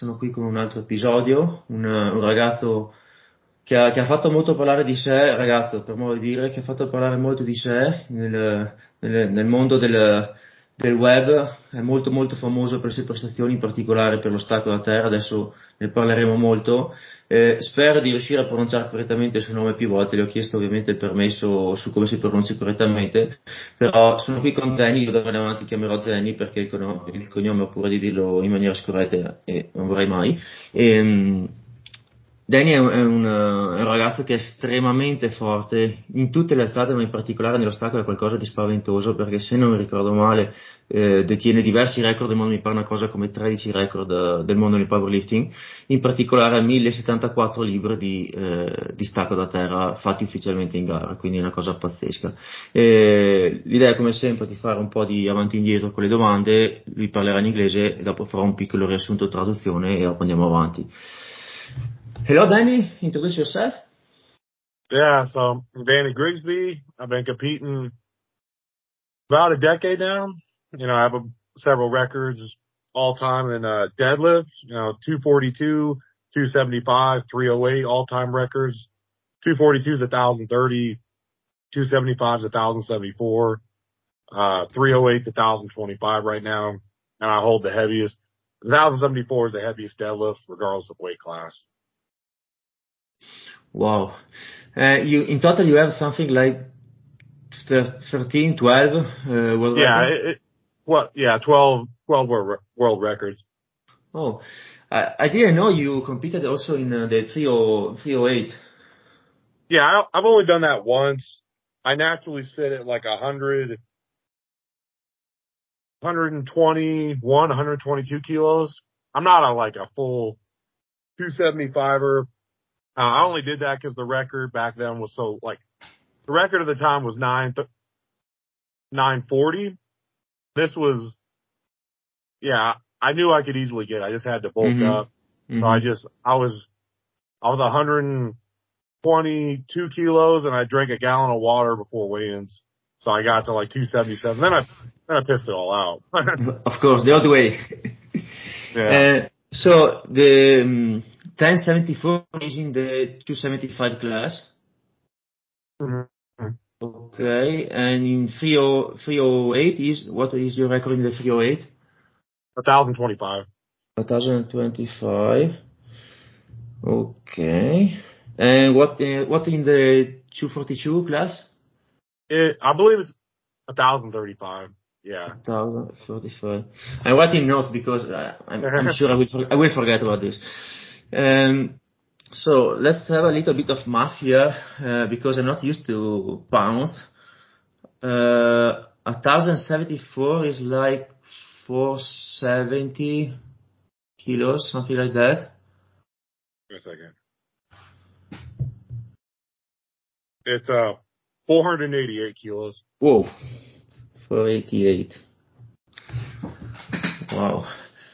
Sono qui con un altro episodio, un ragazzo che ha fatto molto parlare di sé, ragazzo, per modo di dire, che ha fatto parlare molto di sé nel mondo del web, è molto molto famoso per le sue prestazioni, in particolare per lo stacco da terra, adesso ne parleremo molto. Spero di riuscire a pronunciare correttamente il suo nome più volte, le ho chiesto ovviamente il permesso su come si pronuncia correttamente. Però sono qui con Danny, io da ora in avanti chiamerò Danny perché il cognome ho paura di dirlo in maniera scorretta e non vorrei mai. E, Danny è un ragazzo che è estremamente forte in tutte le alzate, ma in particolare nello stacco è qualcosa di spaventoso perché se non mi ricordo male detiene diversi record del mondo, mi pare una cosa come 13 record del mondo nel powerlifting, in particolare 1074 libbre di stacco da terra fatti ufficialmente in gara, quindi è una cosa pazzesca. L'idea è come sempre di fare un po' di avanti e indietro con le domande, lui parlerà in inglese e dopo farò un piccolo riassunto traduzione e dopo andiamo avanti. Hello Danny, introduce yourself. Yeah, so I'm Danny Grigsby. I've been competing about a decade now. I have several records all time in deadlift, 242, 275, 308 all time records. 242 is 1,030, 275 is 1,074, 308 is 1,025 right now. And I hold the heaviest. 1,074 is the heaviest deadlift regardless of weight class. Wow. In total you have something like 13, 12 world records? Yeah, 12 world records. Oh, I didn't know you competed also in the 308. Yeah, I've only done that once. I naturally sit at like 121, 122 kilos. I'm not like a full 275er. I only did that because the record back then was the record at the time was 940. This was, yeah, I knew I could easily get it. I just had to bulk Mm-hmm. up. So Mm-hmm. I was 122 kilos and I drank a gallon of water before weigh-ins. So I got to like 277. Then I pissed it all out. Of course, the other way. Yeah. So the 1074 is in the 275 class. Mhm. Okay, and in 308 what is your record in the 308? 1,025. 1025. Okay. And what in the 242 class? I believe it's 1,035. Yeah. 1045. I'm writing notes because I'm sure I will forget about this. So let's have a little bit of math here because I'm not used to pounds. 1074 is like 470 kilos, something like that. Wait a second. It's 488 kilos. Whoa, 488. Wow.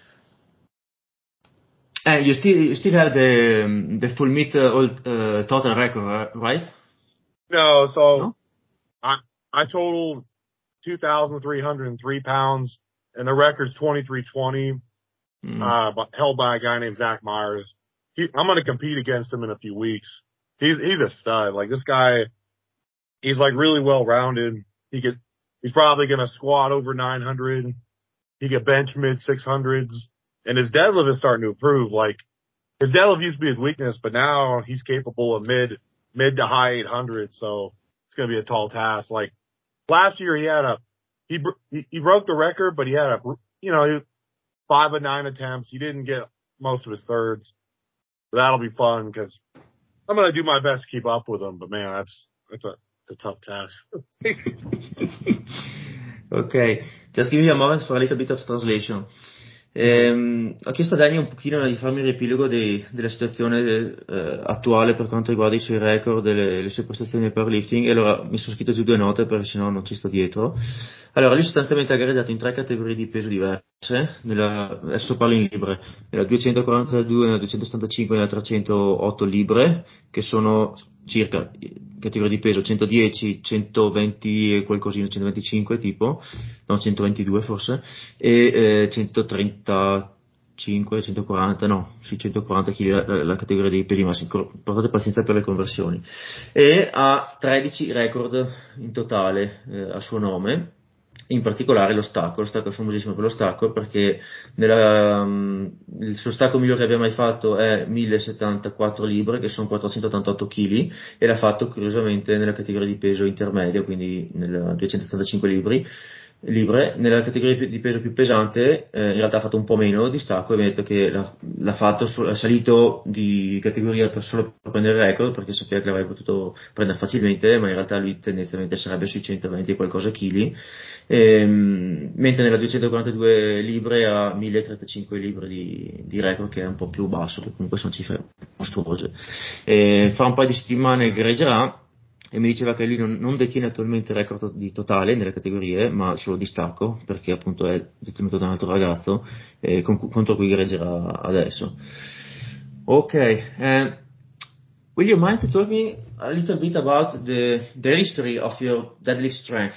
And you still have the full meet total record, right? No, so No? I totaled 2,303 pounds, and the record's 2320. Mm. But held by a guy named Zach Myers. I'm going to compete against him in a few weeks. He's a stud. Like this guy, he's like really well rounded. He's probably going to squat over 900. He could bench mid 600s, and his deadlift is starting to improve. Like his deadlift used to be his weakness, but now he's capable of mid to high 800s. So it's going to be a tall task. Like last year, he broke the record, but he had 5 of 9 attempts. He didn't get most of his thirds. But that'll be fun because I'm going to do my best to keep up with him. But man, it's a tough task. Okay, just give me a moment for a little bit of translation. Ho chiesto a Dani un pochino di farmi un riepilogo della situazione attuale per quanto riguarda i suoi record, le sue prestazioni nel powerlifting e allora mi sono scritto giù due note perché sennò non ci sto dietro. Allora, lui sostanzialmente ha gareggiato in tre categorie di peso diverse, adesso parlo in libre, nella 242, nella 275 e nella 308 libre, che sono circa categorie di peso 110, 120 e qualcosina, 125 tipo, no 122 forse, e 133 135, 140, no, sì, 140 kg la categoria dei pesi massimi, portate pazienza per le conversioni, e ha 13 record in totale a suo nome, in particolare lo stacco è famosissimo per lo stacco perché il suo stacco migliore che abbia mai fatto è 1074 libbre, che sono 488 kg, e l'ha fatto curiosamente nella categoria di peso intermedio, quindi nel 275 libbre. Nella categoria di peso più pesante, in realtà ha fatto un po' meno di stacco, e mi ha detto che l'ha fatto, è salito di categoria solo per prendere il record, perché sapeva che l'avrebbe potuto prendere facilmente, ma in realtà lui tendenzialmente sarebbe sui 120 e qualcosa chili, mentre nella 242 libbre ha 1035 libbre di record, che è un po' più basso, che comunque sono cifre mostruose. Fra un paio di settimane gareggerà, e mi diceva che lui non detiene attualmente il record di totale nelle categorie, ma solo di stacco, perché appunto è detenuto da un altro ragazzo contro cui gareggerà adesso. Ok, will you mind to tell me a little bit about the history of your deadlift strength?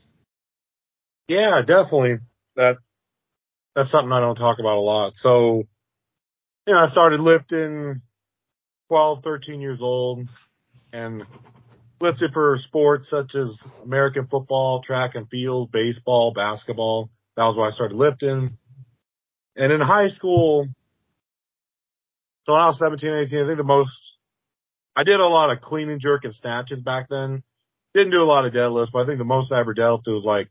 Yeah, definitely. That's something I don't talk about a lot. So, I started lifting 12, 13 years old and lifted for sports such as American football, track and field, baseball, basketball. That was why I started lifting. And in high school, so when I was 17, 18, I think I did a lot of clean and jerk and snatches back then. Didn't do a lot of deadlifts, but I think the most I ever deadlifted was like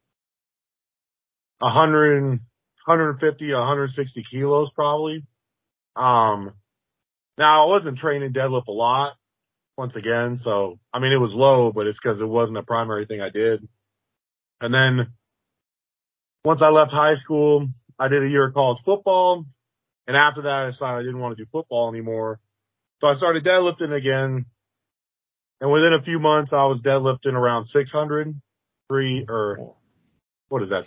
100, 150, 160 kilos probably. Now I wasn't training deadlift a lot once again. So, I mean, it was low, but it's because it wasn't a primary thing I did. And then once I left high school, I did a year of college football. And after that, I decided I didn't want to do football anymore. So I started deadlifting again. And within a few months, I was deadlifting around 600, or what is that,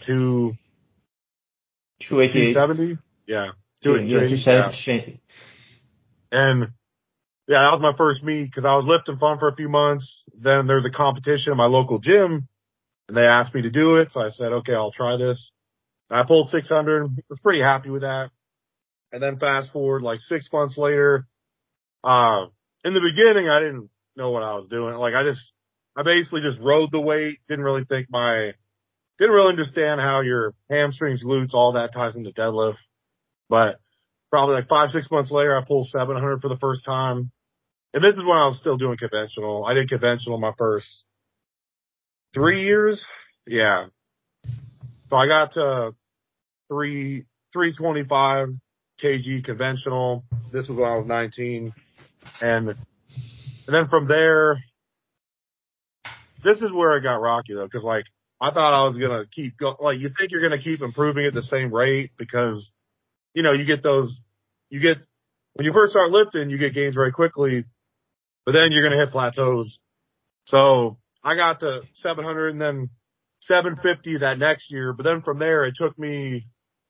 288. 270? Yeah. Yeah, 280. Yeah. 270. And yeah, that was my first meet because I was lifting fun for a few months. Then there was a competition in my local gym and they asked me to do it. So I said, okay, I'll try this. I pulled 600. Was pretty happy with that. And then fast forward like 6 months later, in the beginning, I didn't know what I was doing. Like I basically just rode the weight. Didn't really understand how your hamstrings, glutes, all that ties into deadlift. But probably like 5, 6 months later, I pulled 700 for the first time. And this is when I was still doing conventional. I did conventional my first 3 years. Yeah. So I got to 325 kg conventional. This was when I was 19. And then from there, this is where it got rocky though, because like I thought I was gonna keep like you think you're gonna keep improving at the same rate because you get when you first start lifting you get gains very quickly, but then you're gonna hit plateaus. So I got to 700 and then 750 that next year, but then from there it took me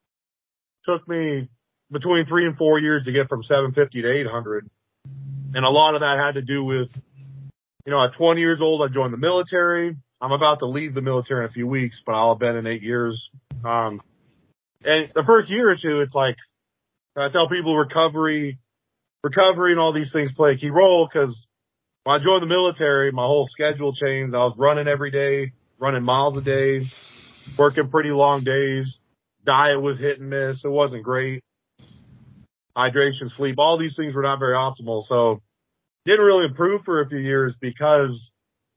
between 3 and 4 years to get from 750 to 800, and a lot of that had to do with at 20 years old, I joined the military. I'm about to leave the military in a few weeks, but I'll have been in 8 years. And the first year or two, it's like, I tell people recovery and all these things play a key role because when I joined the military, my whole schedule changed. I was running every day, running miles a day, working pretty long days. Diet was hit and miss. It wasn't great. Hydration, sleep, all these things were not very optimal. So didn't really improve for a few years because,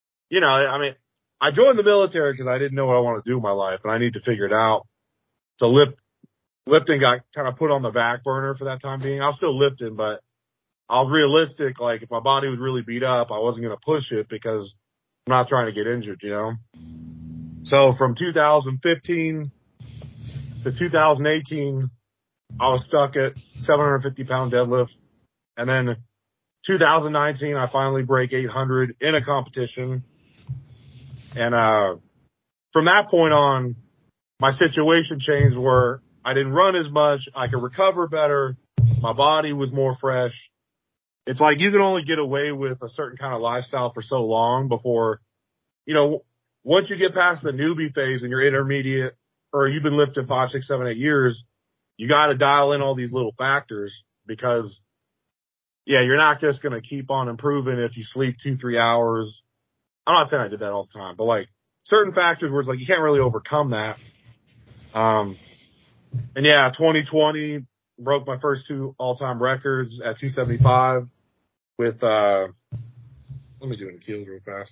I joined the military because I didn't know what I wanted to do with my life and I need to figure it out. So lifting got kind of put on the back burner for that time being. I was still lifting, but I was realistic. Like if my body was really beat up, I wasn't going to push it because I'm not trying to get injured, So from 2015 to 2018, I was stuck at 750 pound deadlift. And then 2019, I finally break 800 in a competition. And, from that point on, my situation changed where I didn't run as much. I could recover better. My body was more fresh. It's like you can only get away with a certain kind of lifestyle for so long before, once you get past the newbie phase and you're intermediate or you've been lifting 5, 6, 7, 8 years, you got to dial in all these little factors because, yeah, you're not just going to keep on improving if you sleep 2-3 hours. I'm not saying I did that all the time, but like certain factors where it's like you can't really overcome that. And yeah, 2020 broke my first 2 all-time records at 275 with, let me do it in kilos real fast.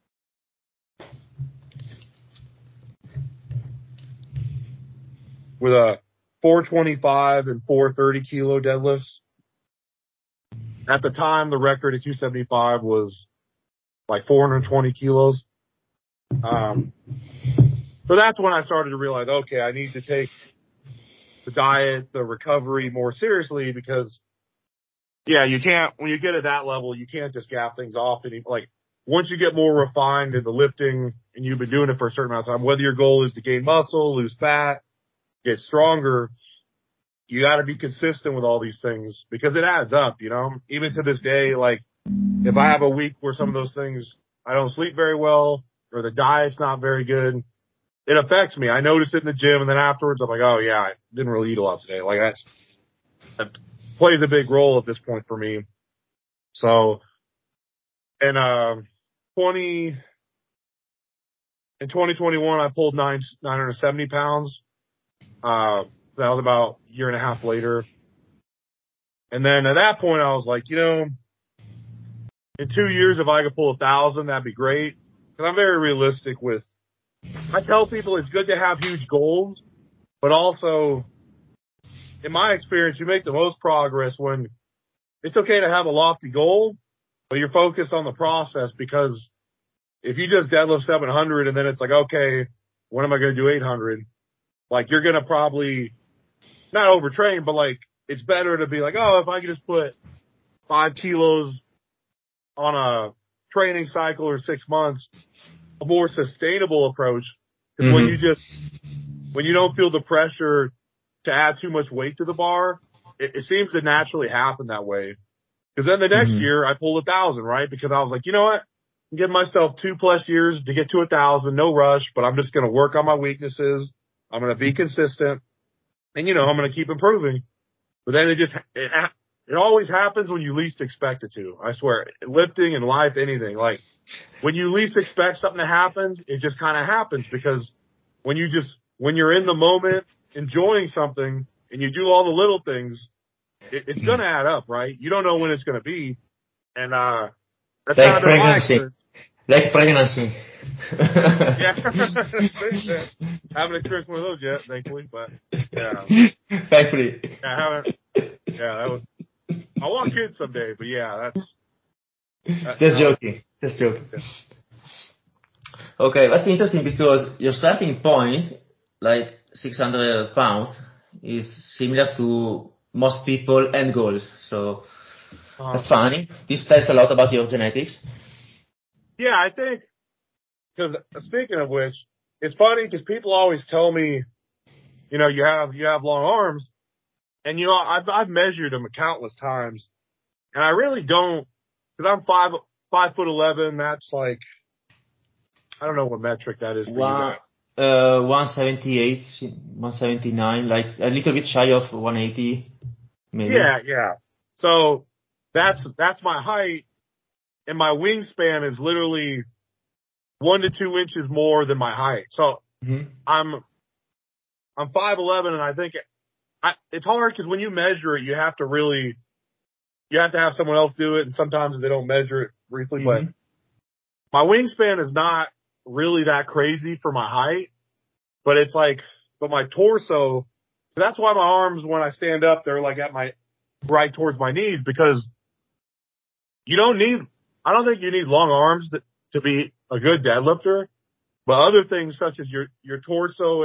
With a 425 and 430 kilo deadlifts. At the time, the record at 275 was like 420 kilos. So that's when I started to realize, okay, I need to take the diet, the recovery more seriously because, yeah, you can't, when you get at that level, you can't just gap things off. Like, once you get more refined in the lifting and you've been doing it for a certain amount of time, whether your goal is to gain muscle, lose fat, get stronger, you got to be consistent with all these things because it adds up, you know? Even to this day, like, if I have a week where some of those things, I don't sleep very well or the diet's not very good, it affects me. I notice it in the gym and then afterwards I'm like, oh yeah, I didn't really eat a lot today. Like that plays a big role at this point for me. So, in 2021, I pulled 970 pounds. That was about a year and a half later. And then at that point, I was like, you know, in 2 years, if I could pull 1,000, that'd be great. Because I'm very realistic with, I tell people it's good to have huge goals, but also, in my experience, you make the most progress when it's okay to have a lofty goal, but you're focused on the process because if you just deadlift 700 and then it's like, okay, when am I going to do 800? Like, you're going to probably not overtrain, but like, it's better to be like, oh, if I could just put 5 kilos on a training cycle or 6 months, a more sustainable approach. Because when you don't feel the pressure to add too much weight to the bar, it seems to naturally happen that way. Because then the next year I pulled 1,000, right? Because I was like, you know what? I'm giving myself 2+ years to get to 1,000, no rush, but I'm just going to work on my weaknesses. I'm going to be consistent. And, you know, I'm going to keep improving. But then it always happens when you least expect it to. I swear. Lifting and life, anything. Like, when you least expect something to happen, it just kind of happens because when you're in the moment enjoying something and you do all the little things, it's going to add up, right? You don't know when it's going to be. And, that's like pregnancy. Like pregnancy. Yeah. Haven't experienced one of those yet, thankfully, but yeah. Thankfully. Yeah, I haven't. Yeah, I want kids someday, but yeah, Just joking. Yeah. Okay, that's interesting because your starting point, like 600 pounds, is similar to most people and goals. So that's funny. This tells a lot about your genetics. Yeah, I think, because speaking of which, it's funny because people always tell me, you know, you have long arms, and you know, I've measured them countless times, and I really don't, because I'm 5'11". That's like, I don't know what metric that is for you guys. 178, 179, like a little bit shy of 180, maybe. Yeah. So that's my height, and my wingspan is literally 1 to 2 inches more than my height. So I'm 5'11", and I think it's hard because when you measure it, you have to have someone else do it, and sometimes they don't measure it briefly. But my wingspan is not really that crazy for my height, but it's like, but my torso. That's why my arms, when I stand up, they're like at my right towards my knees, because I don't think you need long arms to be a good deadlifter, but other things such as your torso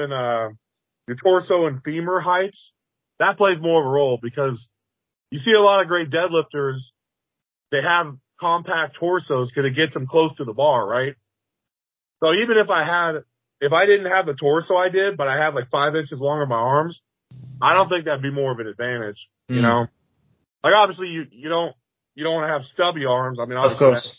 and femur heights, that plays more of a role, because you see a lot of great deadlifters, they have compact torsos because it gets them close to the bar, right? So even if I didn't have the torso I did, but I had like 5 inches longer my arms, I don't think that'd be more of an advantage, you know? Like, obviously you don't want to have stubby arms. I mean, obviously, of course.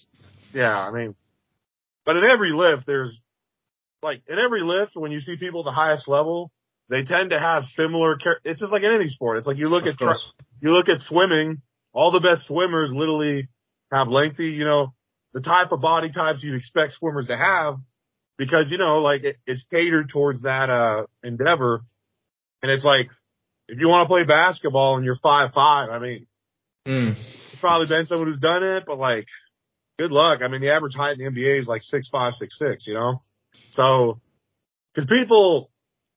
But in every lift, when you see people at the highest level, they tend to have similar. It's just like in any sport. It's like you look Of course. you look at swimming. All the best swimmers literally have lengthy, the type of body types you'd expect swimmers to have, because like it's catered towards that endeavor. And it's like, if you want to play basketball and you're 5'5", I mean, it's probably been someone who's done it, but like, good luck. I mean, the average height in the NBA is like 6'5", 6'6", So, because people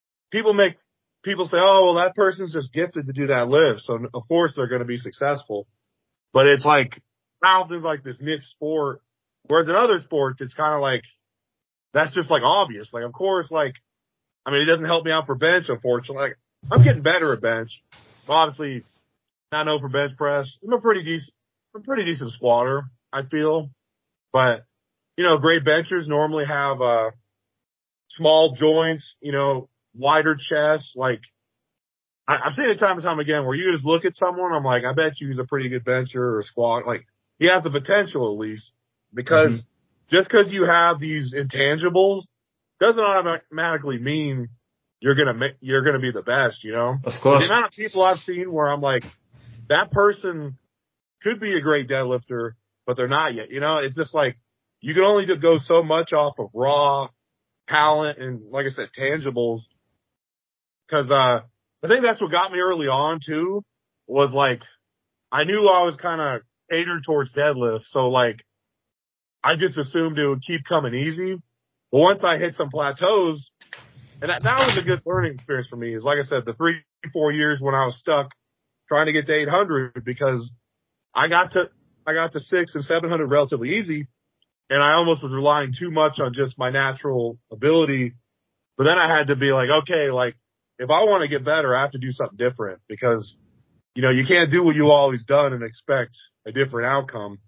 say, oh, well, that person's just gifted to do that lift, so of course they're going to be successful. But it's like, powerlifting is like this niche sport, whereas in other sports, it's kind of like, that's just like obvious. Like, of course, like, I mean, it doesn't help me out for bench, unfortunately. Like, I'm getting better at bench. Obviously, not known for bench press. I'm a pretty decent squatter, I feel. But, great benchers normally have, small joints, wider chest. Like, I've seen it time and time again where you just look at someone, I'm like, I bet you he's a pretty good bencher or squat. Like, he has the potential at least, because just because you have these intangibles doesn't automatically mean you're gonna be the best, Of course. The amount of people I've seen where I'm like, that person could be a great deadlifter, but they're not yet. It's just like, you can only go so much off of raw talent and, like I said, tangibles. Cause, I think that's what got me early on too, was like, I knew I was kind of catered towards deadlift. So like, I just assumed it would keep coming easy. But once I hit some plateaus, and that was a good learning experience for me, is like I said, the 3-4 years when I was stuck trying to get to 800, because I got to 600 and 700 relatively easy, and I almost was relying too much on just my natural ability. But then I had to be like, okay, like, if I want to get better, I have to do something different, because, you can't do what you always done and expect a different outcome,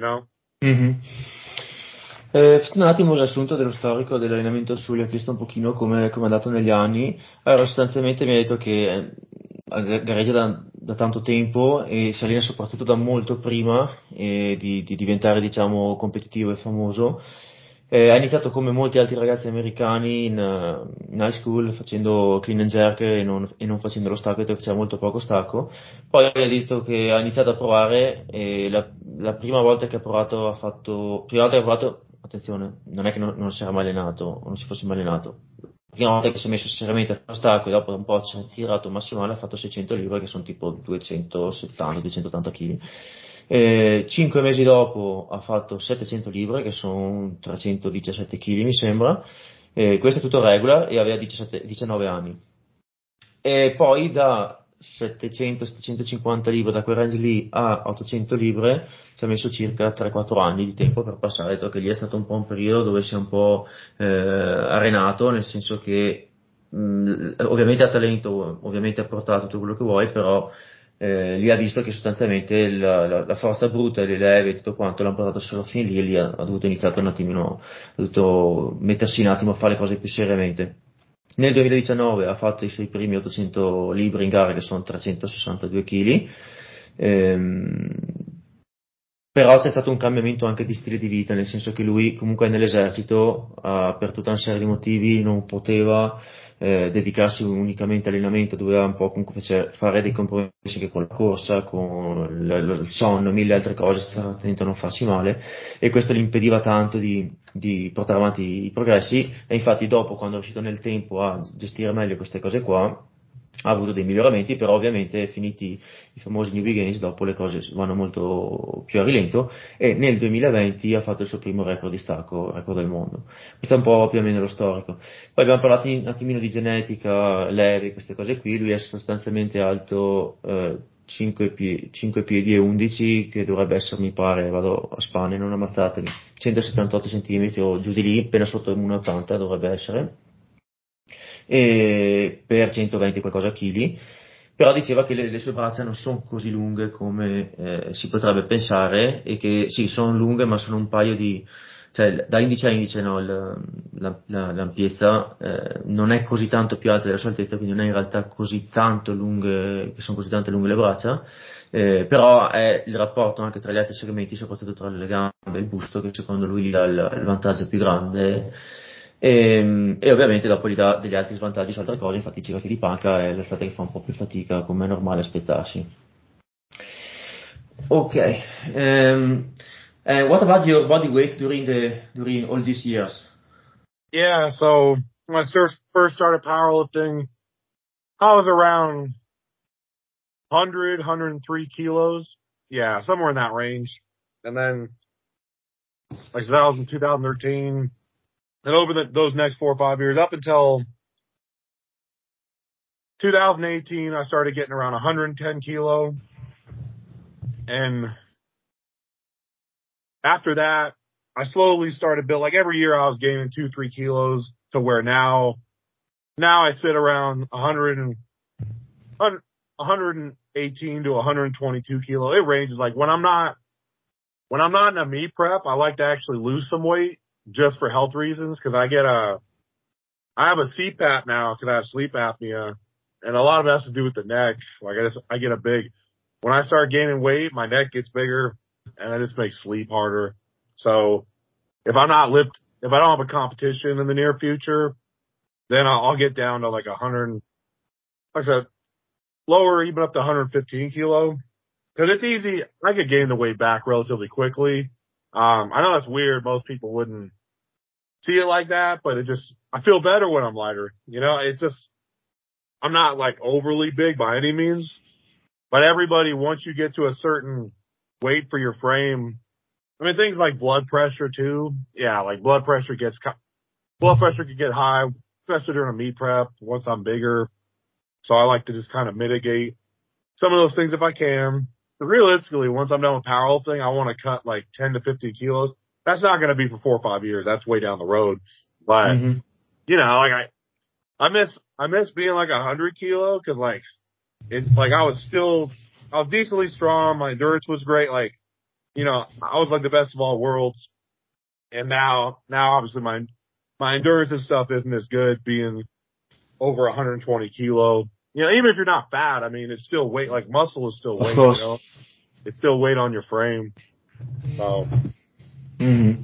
Faccio un attimo un riassunto dello storico dell'allenamento al Suli, ho chiesto un pochino come è andato negli anni. Allora, sostanzialmente mi ha detto che gareggia da tanto tempo e si allena soprattutto da molto prima di diventare, diciamo, competitivo e famoso. Ha iniziato come molti altri ragazzi americani in high school facendo clean and jerk e non facendo lo stacco, perché faceva molto poco stacco. Poi ha detto che ha iniziato a provare e la prima volta che ha provato attenzione, non è che non si era mai allenato o non si fosse mai allenato. La prima volta che si è messo seriamente a fare stacco e dopo un po' ci ha tirato massimale, ha fatto 600 libbre che sono tipo 270-280 kg. 5 mesi dopo ha fatto 700 libbre che sono 317 kg mi sembra. Questo è tutto regular e aveva 19 anni. E poi da 700-750 libbre, da quel range lì a 800 libbre, ci ha messo circa 3-4 anni di tempo per passare. Ha detto che lì è stato un po' un periodo dove si è un po' arenato, nel senso che ovviamente ha talento, ovviamente ha portato tutto quello che vuoi, però lì ha visto che sostanzialmente la forza bruta e le leve e tutto quanto l'hanno portato solo fin lì, e lì ha dovuto iniziare un attimino, ha dovuto mettersi un attimo a fare le cose più seriamente. Nel 2019 ha fatto i suoi primi 800 libbre in gara, che sono 362 kg. Però c'è stato un cambiamento anche di stile di vita, nel senso che lui comunque nell'esercito, per tutta una serie di motivi, non poteva dedicarsi unicamente all'allenamento, doveva un po' comunque fare dei compromessi anche con la corsa, con il sonno, mille altre cose, stare attento a non farsi male, e questo gli impediva tanto di portare avanti i progressi. E infatti dopo, quando è riuscito nel tempo a gestire meglio queste cose qua, ha avuto dei miglioramenti, però ovviamente finiti i famosi Newbie Games, dopo le cose vanno molto più a rilento, e nel 2020 ha fatto il suo primo record di stacco, record del mondo. Questo è un po' più o meno lo storico. Poi abbiamo parlato un attimino di genetica, levi, queste cose qui. Lui è sostanzialmente alto 5 piedi e 11, che dovrebbe essere, mi pare, vado a spanne, non ammazzatevi, 178 cm o giù di lì, appena sotto il 1,80 dovrebbe essere, e per 120 qualcosa chili. Però diceva che le sue braccia non sono così lunghe come si potrebbe pensare, e che sì, sono lunghe, ma sono un paio cioè da indice a indice, no, l'ampiezza non è così tanto più alta della sua altezza, quindi non è in realtà così tanto lunghe, che sono così tanto lunghe le braccia. Però è il rapporto anche tra gli altri segmenti, soprattutto tra le gambe e il busto, che secondo lui dà il vantaggio più grande. e ovviamente dopo gli dà degli altri svantaggi su altre cose, infatti Ciro di panca è l'estate che fa un po' più fatica, come è normale aspettarsi. Ok, and what about your body weight during all these years? Yeah, so when I first started powerlifting, I was around 103 kilos. Yeah, somewhere in that range. And then, like I said, that was in 2013. And over those next 4 or 5 years, up until 2018, I started getting around 110 kilo. And after that, I slowly started building, like every year I was gaining 2, 3 kilos to where now I sit around 118 to 122 kilo. It ranges. Like when I'm not in a meet prep, I like to actually lose some weight just for health reasons. Cause I have a CPAP now cause I have sleep apnea, and a lot of it has to do with the neck. Like I get when I start gaining weight, my neck gets bigger and it just makes sleep harder. So if if I don't have a competition in the near future, then I'll get down to like 100, like I said, lower, even up to 115 kilo. Cause it's easy. I could gain the weight back relatively quickly. I know that's weird. Most people wouldn't see it like that, but I feel better when I'm lighter. You know, I'm not like overly big by any means, but everybody, once you get to a certain weight for your frame, I mean, things like blood pressure too. Yeah, like blood pressure can get high, especially during a meet prep once I'm bigger. So I like to just kind of mitigate some of those things if I can. But realistically, once I'm done with powerlifting, I want to cut like 10 to 15 kilos. That's not going to be for 4 or 5 years. That's way down the road. But, Mm-hmm. you know, like I miss being like 100 kilo, cause like it's like I was decently strong. My endurance was great. Like, you know, I was like the best of all worlds. And now obviously my endurance and stuff isn't as good being over 120 kilo. You know, even if you're not fat, I mean, it's still weight. Like muscle is still Of weight, you course. know, it's still weight on your frame. So, Mhm.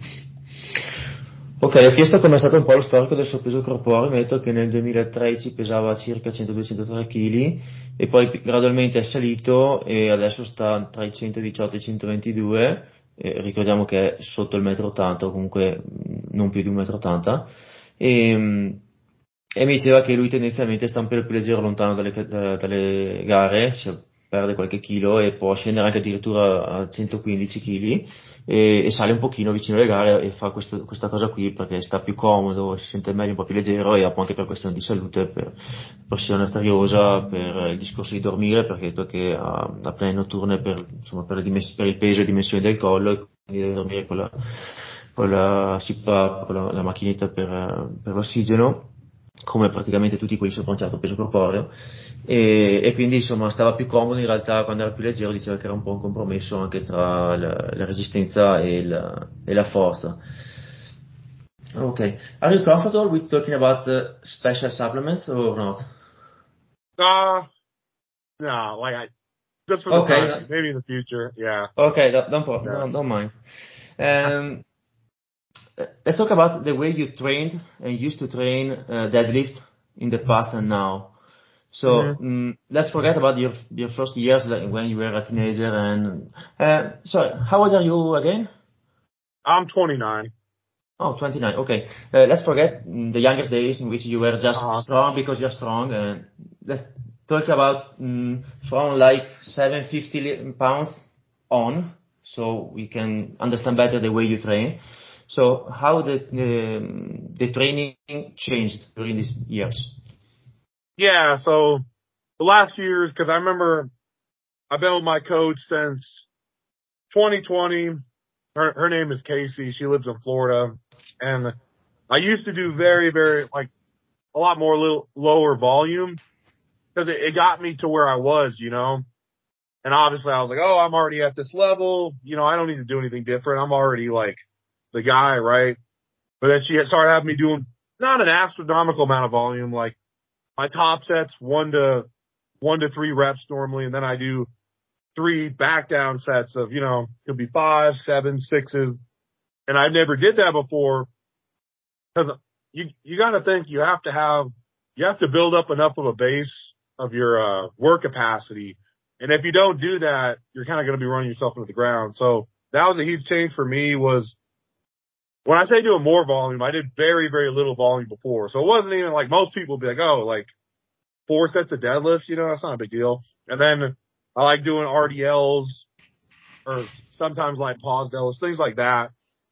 Ok, ho chiesto com'è stato un po' lo storico del suo peso corporeo, mi ha detto che nel 2013 pesava circa 102-103 kg e poi gradualmente è salito e adesso sta tra i 118 e i 122, ricordiamo che è sotto il 1,80 m, o comunque non più di 1,80 m, e, e mi diceva che lui tendenzialmente sta un po' più leggero lontano dalle gare, perde qualche chilo e può scendere anche addirittura a 115 kg e sale un pochino vicino alle gare e fa questa cosa qui perché sta più comodo, si sente meglio, un po' più leggero e anche per questione di salute, per pressione arteriosa, per il discorso di dormire, perché ha detto che ha apnee notturne insomma, per il peso e dimensioni del collo e quindi deve dormire con la CPAP, con la macchinetta per l'ossigeno, come praticamente tutti quelli sopra un certo peso corporeo, e quindi insomma stava più comodo in realtà quando era più leggero, diceva che era un po' un compromesso anche tra la resistenza e la forza. Okay. Are you comfortable with talking about special supplements or not? uh, no, like just for the Okay, time being, maybe in the future. Yeah. okay, Yeah. don't mind. Um, let's talk about the way you trained and used to train deadlift in the past and now. hmm So let's forget about your first years, like when you were a teenager. And sorry, how old are you again? I'm 29. Oh, 29. Okay. Let's forget the younger days in which you were just Uh-huh. strong because you're strong. And let's talk about from like 750 pounds on, so we can understand better the way you train. So how the training changed during these years? Yeah. So the last few years, cause I remember I've been with my coach since 2020. Her name is Casey. She lives in Florida, and I used to do very, very like a lot more little lower volume because it got me to where I was, you know. And obviously I was like, oh, I'm already at this level. You know, I don't need to do anything different. I'm already like the guy, right? But then she had started having me doing not an astronomical amount of volume. Like my top sets, 1 to 3 reps normally. And then I do 3 back down sets of, you know, could be 5, 7, 6s. And I never did that before because you got to think you have to build up enough of a base of your work capacity. And if you don't do that, you're kind of going to be running yourself into the ground. So that was a huge change for me. Was when I say doing more volume, I did very, very little volume before. So it wasn't even like most people would be like, oh, like 4 sets of deadlifts, that's not a big deal. And then I like doing RDLs or sometimes like pause deadlifts, things like that.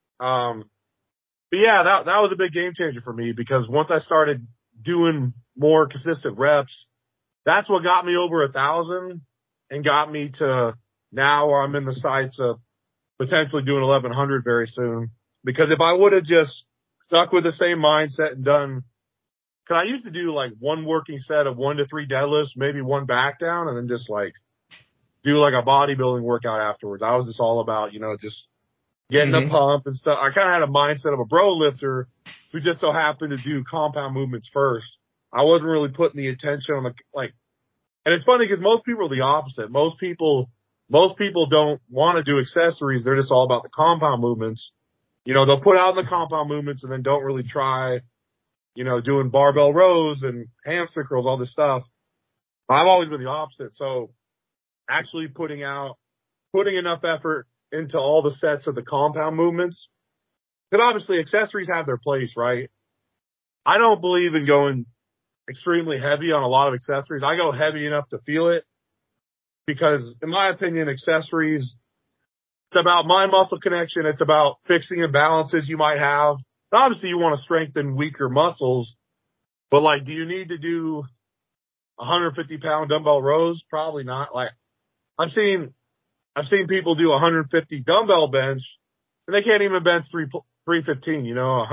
But yeah, that was a big game changer for me because once I started doing more consistent reps, that's what got me over 1,000 and got me to now where I'm in the sights of potentially doing 1,100 very soon. Because if I would have just stuck with the same mindset and done, cause I used to do like one working set of 1 to 3 deadlifts, maybe one back down, and then just like do like a bodybuilding workout afterwards. I was just all about, just getting a pump and stuff. I kind of had a mindset of a bro lifter who just so happened to do compound movements first. I wasn't really putting the attention on and it's funny because most people are the opposite. Most people don't want to do accessories. They're just all about the compound movements. They'll put out the compound movements and then don't really try, doing barbell rows and hamstring curls, all this stuff. I've always been the opposite. So actually putting enough effort into all the sets of the compound movements, because obviously accessories have their place, right? I don't believe in going extremely heavy on a lot of accessories. I go heavy enough to feel it because in my opinion, accessories, it's about mind muscle connection. It's about fixing imbalances you might have. Obviously you want to strengthen weaker muscles, but like, do you need to do 150 pound dumbbell rows? Probably not. Like I've seen people do 150 dumbbell bench and they can't even bench 315,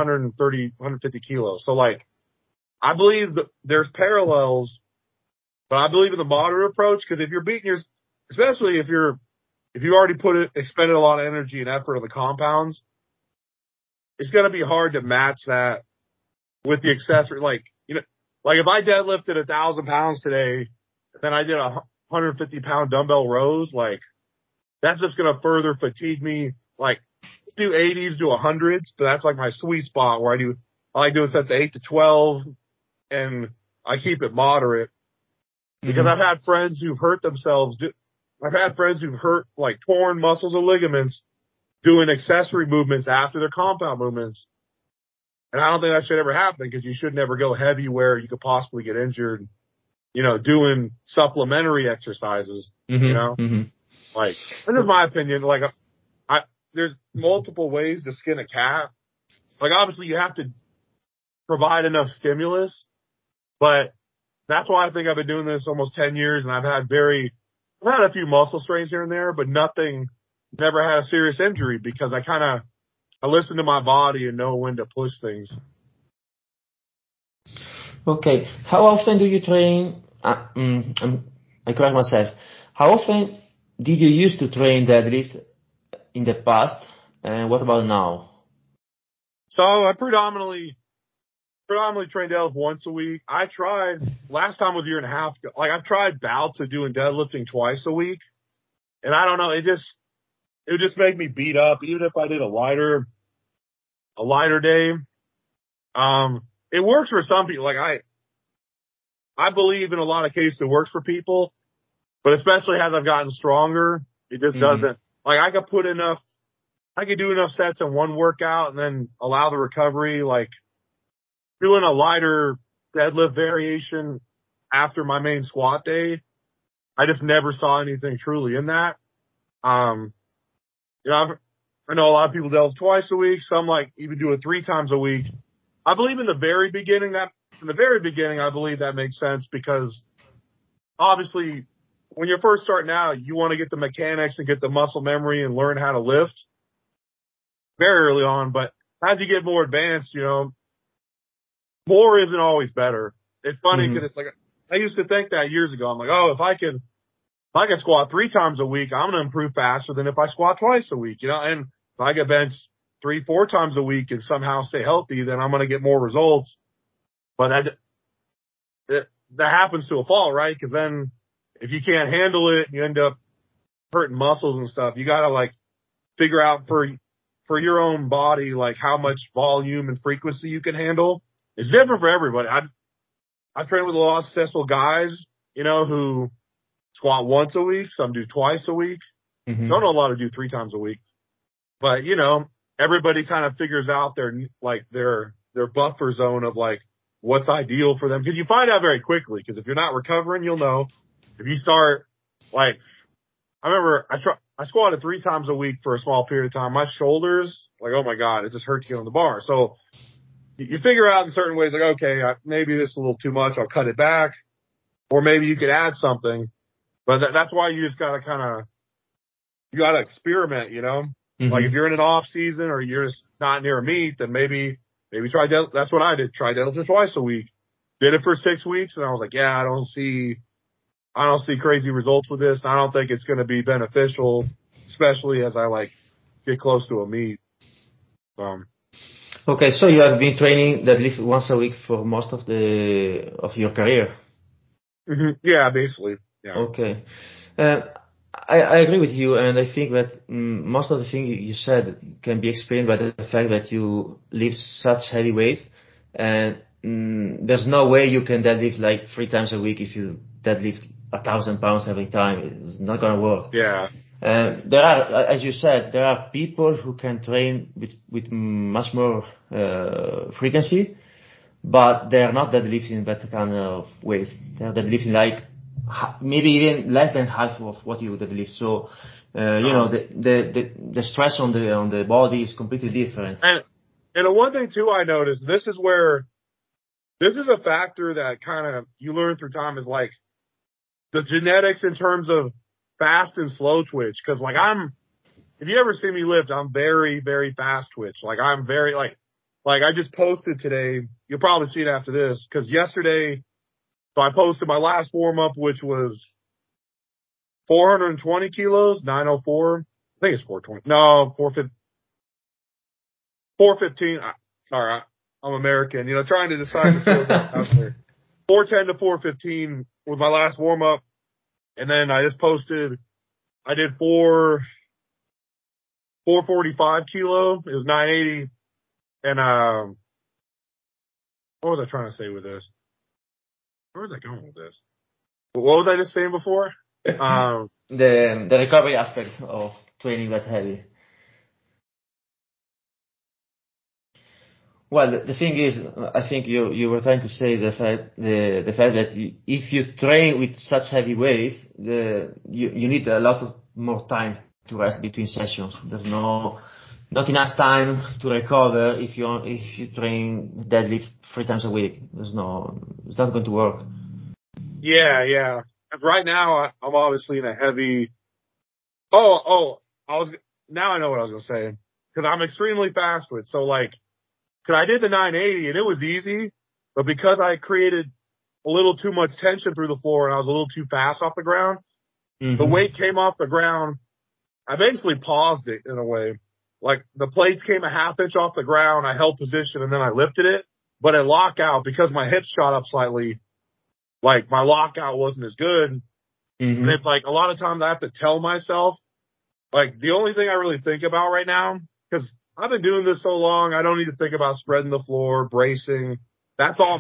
150 kilos. So like, I believe that there's parallels, but I believe in the moderate approach because if you're beating especially if you already expended a lot of energy and effort on the compounds, it's going to be hard to match that with the accessory. Like if I deadlifted 1,000 pounds today, then I did 150 pound dumbbell rows, like that's just going to further fatigue me. Like do 80s, do 100s, but that's like my sweet spot where I like doing sets of 8 to 12 and I keep it moderate because I've had friends who've hurt themselves. I've had friends who've hurt like torn muscles or ligaments doing accessory movements after their compound movements. And I don't think that should ever happen because you should never go heavy where you could possibly get injured, doing supplementary exercises, like, this is my opinion. Like there's multiple ways to skin a cat. Like obviously you have to provide enough stimulus, but that's why I think I've been doing this almost 10 years and I've had a few muscle strains here and there, but never had a serious injury because I listen to my body and know when to push things. Okay. How often do you train? I correct myself. How often did you used to train deadlift in the past? And what about now? So I predominantly train deadlift once a week. I tried last time was a year and a half ago. Like I've tried bouts of doing deadlifting twice a week. And I don't know, it would just make me beat up even if I did a lighter day. It works for some people. Like I believe in a lot of cases it works for people, but especially as I've gotten stronger, it just doesn't. Like I could do enough sets in one workout and then allow the recovery. Like doing a lighter deadlift variation after my main squat day, I just never saw anything truly in that. I know a lot of people deadlift twice a week. Some like even do it 3 times a week. I believe in the very beginning, I believe that makes sense because obviously when you're first starting out, you want to get the mechanics and get the muscle memory and learn how to lift very early on. But as you get more advanced, more isn't always better. It's funny because it's like, I used to think that years ago. I'm like, oh, if I can squat 3 times a week, I'm going to improve faster than if I squat twice a week, and if I get benched 3-4 times a week and somehow stay healthy, then I'm going to get more results. But that happens to a fault, right? Because then if you can't handle it, you end up hurting muscles and stuff. You got to like figure out for your own body, like how much volume and frequency you can handle. it's different for everybody. I've trained with a lot of successful guys, who squat once a week. Some do twice a week. Mm-hmm. Don't know a lot of do 3 times a week, but everybody kind of figures out their buffer zone of like what's ideal for them. Cause you find out very quickly. Cause if you're not recovering, you'll know. If you start I remember I squatted 3 times a week for a small period of time. My shoulders, oh my God, it just hurts to get on the bar. So you figure out in certain ways, okay, maybe this is a little too much. I'll cut it back. Or maybe you could add something. But that's why you just gotta you gotta experiment, Mm-hmm. Like if you're in an off season or you're just not near a meet, then maybe try that's what I did. Try deadlifting twice a week. Did it for 6 weeks and I was like, yeah, I don't see crazy results with this. I don't think it's going to be beneficial, especially as I get close to a meet. Okay, so you have been training deadlift once a week for most of your career. Mm-hmm. Yeah, basically. Yeah. Okay. I agree with you, and I think that most of the things you said can be explained by the fact that you lift such heavy weights, and there's no way you can deadlift 3 times a week if you deadlift 1,000 pounds every time. It's not gonna work. Yeah. There are, as you said, there are people who can train with much more frequency, but they are not deadlifting that kind of weight. They are deadlifting maybe even less than half of what you deadlift. So, the stress on the body is completely different. And the one thing too I noticed, this is a factor that kind of you learn through time is the genetics in terms of fast and slow twitch. Cause if you ever see me lift, I'm very, very fast twitch. I'm very I just posted today. You'll probably see it after this. Cause yesterday, so I posted my last warm up, which was 420 kilos, 904. I think it's 420. No, 415. Sorry, I'm American. Trying to decide the 410 to 415 was my last warm up. And then I just posted, I did 445 kilo. It was 980. And, what was I trying to say with this? Where was I going with this? What was I just saying before? The recovery aspect of training that heavy. Well, the thing is, I think you were trying to say the fact that if you train with such heavy weight, you need a lot of more time to rest between sessions. There's not enough time to recover if you train deadlift 3 times a week. It's not going to work. Yeah. Right now, I'm obviously in a heavy. Now I know what I was gonna say because I'm extremely fast with. So cause I did the 980 and it was easy, but because I created a little too much tension through the floor and I was a little too fast off the ground, the weight came off the ground. I basically paused it in a way. The plates came a half inch off the ground. I held position and then I lifted it, but at lockout, because my hips shot up slightly, my lockout wasn't as good. And it's a lot of times I have to tell myself, the only thing I really think about right now, cause I've been doing this so long, I don't need to think about spreading the floor, bracing. That's all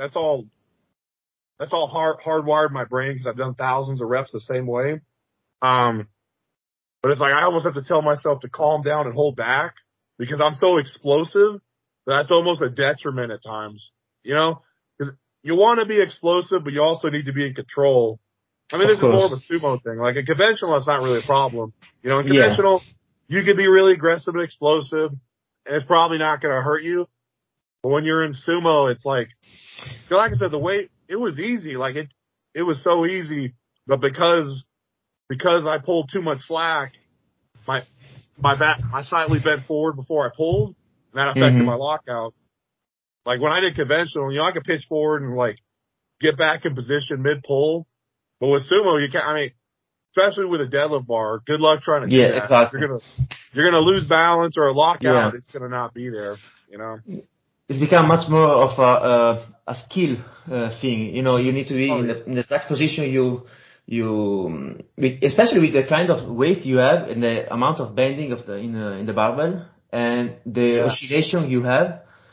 hardwired in my brain because I've done thousands of reps the same way. But it's I almost have to tell myself to calm down and hold back because I'm so explosive that's almost a detriment at times, because you want to be explosive, but you also need to be in control. I mean, this is more of a sumo thing. A conventional, it's not really a problem. In conventional, you can be really aggressive and explosive, and it's probably not going to hurt you. But when you're in sumo, it's like I said, the weight, it was easy. It was so easy, but because I pulled too much slack, my back, I slightly bent forward before I pulled, and that affected my lockout. When I did conventional, I could pitch forward and get back in position mid pull, but with sumo, you can't. I mean, especially with a deadlift bar, good luck trying to do that. Exactly. You're gonna lose balance or a lockout. It's gonna not be there. It's become much more of a skill thing. You need to be in the exact position especially with the kind of weight you have and the amount of bending in the barbell and the oscillation you have.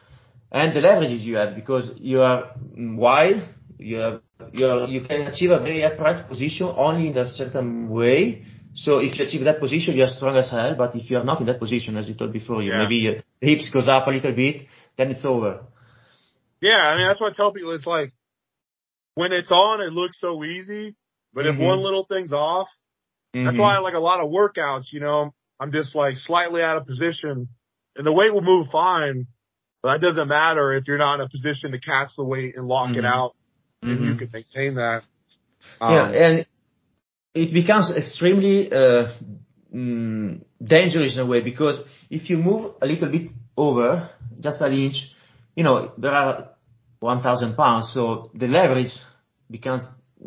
and the leverages you have, because you are wide, you can achieve a very upright position only in a certain way. So if you achieve that position, you are strong as hell. But if you are not in that position, as you told before, maybe your hips goes up a little bit, then it's over. Yeah, I mean, that's what I tell people. It's like, when it's on, it looks so easy. But if one little thing's off, that's why like a lot of workouts, I'm just like slightly out of position and the weight will move fine. But that doesn't matter if you're not in a position to catch the weight and lock it out, and you can maintain that. And it becomes extremely dangerous in a way, because if you move a little bit over, just an inch, there are 1,000 pounds, so the leverage becomes,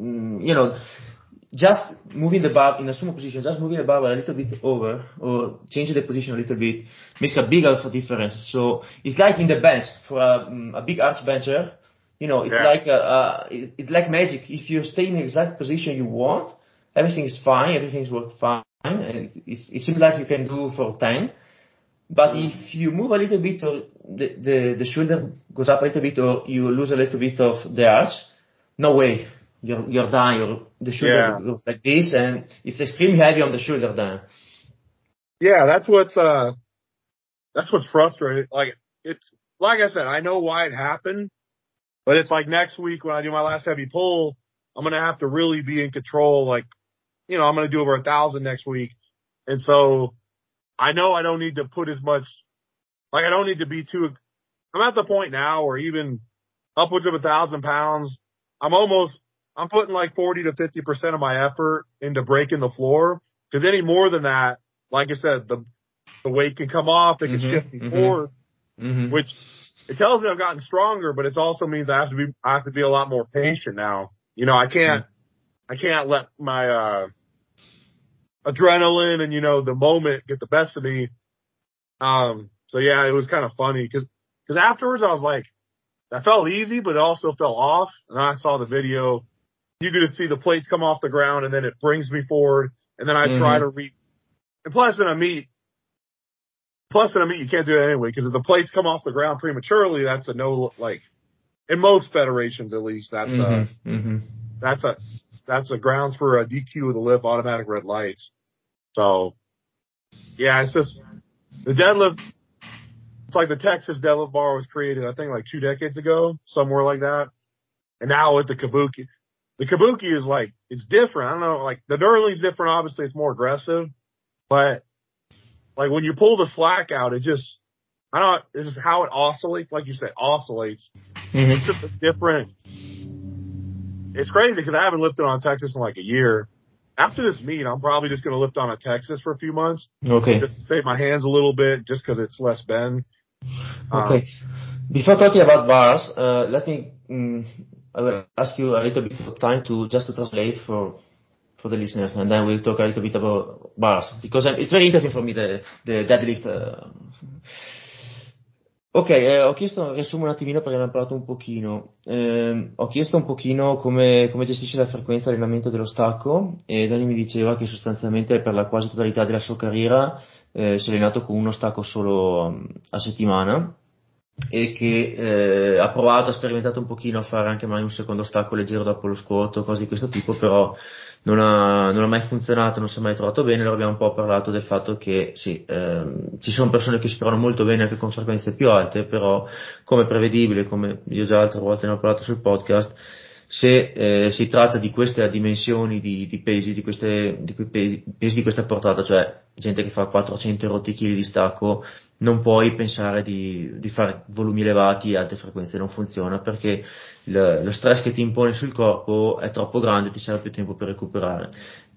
just moving the bar in a sumo position, just moving the bar a little bit over or changing the position a little bit makes a bigger difference. So it's like in the bench for a big arch bencher, it's like magic. If you stay in the exact position you want, everything is fine, everything's worked fine, and it seems like you can do for 10. But if you move a little bit, or the shoulder goes up a little bit, or you lose a little bit of the arch, no way. You're done. The shoulder goes like this, and it's extremely heavy on the shoulder then. Yeah, that's what's frustrating. Like, it's like I said, I know why it happened, but it's like next week when I do my last heavy pull, I'm gonna have to really be in control. Like, I'm gonna do over 1,000 next week, and so I know I don't need to put as much. Like, I don't need to be too. I'm at the point now where even upwards of 1,000 pounds, I'm putting like 40 to 50% of my effort into breaking the floor. Because any more than that, like I said, the weight can come off, it can shift me forward, which it tells me I've gotten stronger, but it also means I have to be a lot more patient now. I can't let my adrenaline and the moment get the best of me. So yeah, it was kind of funny because afterwards I was like, that felt easy, but it also fell off. And then I saw the video. You could just see the plates come off the ground, and then it brings me forward. And then I try to reach. And plus in a meet, you can't do that anyway, because if the plates come off the ground prematurely, that's a no. Like, in most federations, at least, that's a grounds for a DQ of the lift, automatic red lights. So yeah, it's just the deadlift. It's like the Texas deadlift bar was created, I think, like 2 decades ago, somewhere like that. And now with the Kabuki. The Kabuki is like, it's different. I don't know, like the knurling's different. Obviously, it's more aggressive, but like when you pull the slack out, it's just how it oscillates. Like you said, oscillates. It's just a different. It's crazy because I haven't lifted on Texas in like a year. After this meet, I'm probably just going to lift on a Texas for a few months. Okay. Just to save my hands a little bit, just because it's less bend. Okay. Before talking about bars, let me. I will ask you a little bit of time to translate for the listeners, and then we'll talk a little bit about bars, because it's very interesting for me, the deadlift. Ok, ho chiesto, riassumo un attimino perché abbiamo parlato un pochino. Ho chiesto un pochino come gestisce la frequenza di allenamento dello stacco, e Dani mi diceva che sostanzialmente per la quasi totalità della sua carriera si è allenato con uno stacco solo a settimana, e che ha sperimentato un pochino a fare anche mai un secondo stacco leggero dopo lo squat, cose di questo tipo, però non ha mai funzionato, non si è mai trovato bene. Allora abbiamo un po' parlato del fatto che sì, ci sono persone che si trovano molto bene anche con frequenze più alte, però come prevedibile, come io già altre volte ne ho parlato sul podcast, se si tratta di queste dimensioni di pesi, di pesi di questa portata, cioè gente che fa 400 rotti chili di stacco, non puoi pensare di fare volumi elevati e alte frequenze, non funziona, perché lo stress che ti impone sul corpo è troppo grande, ti serve più tempo per recuperare.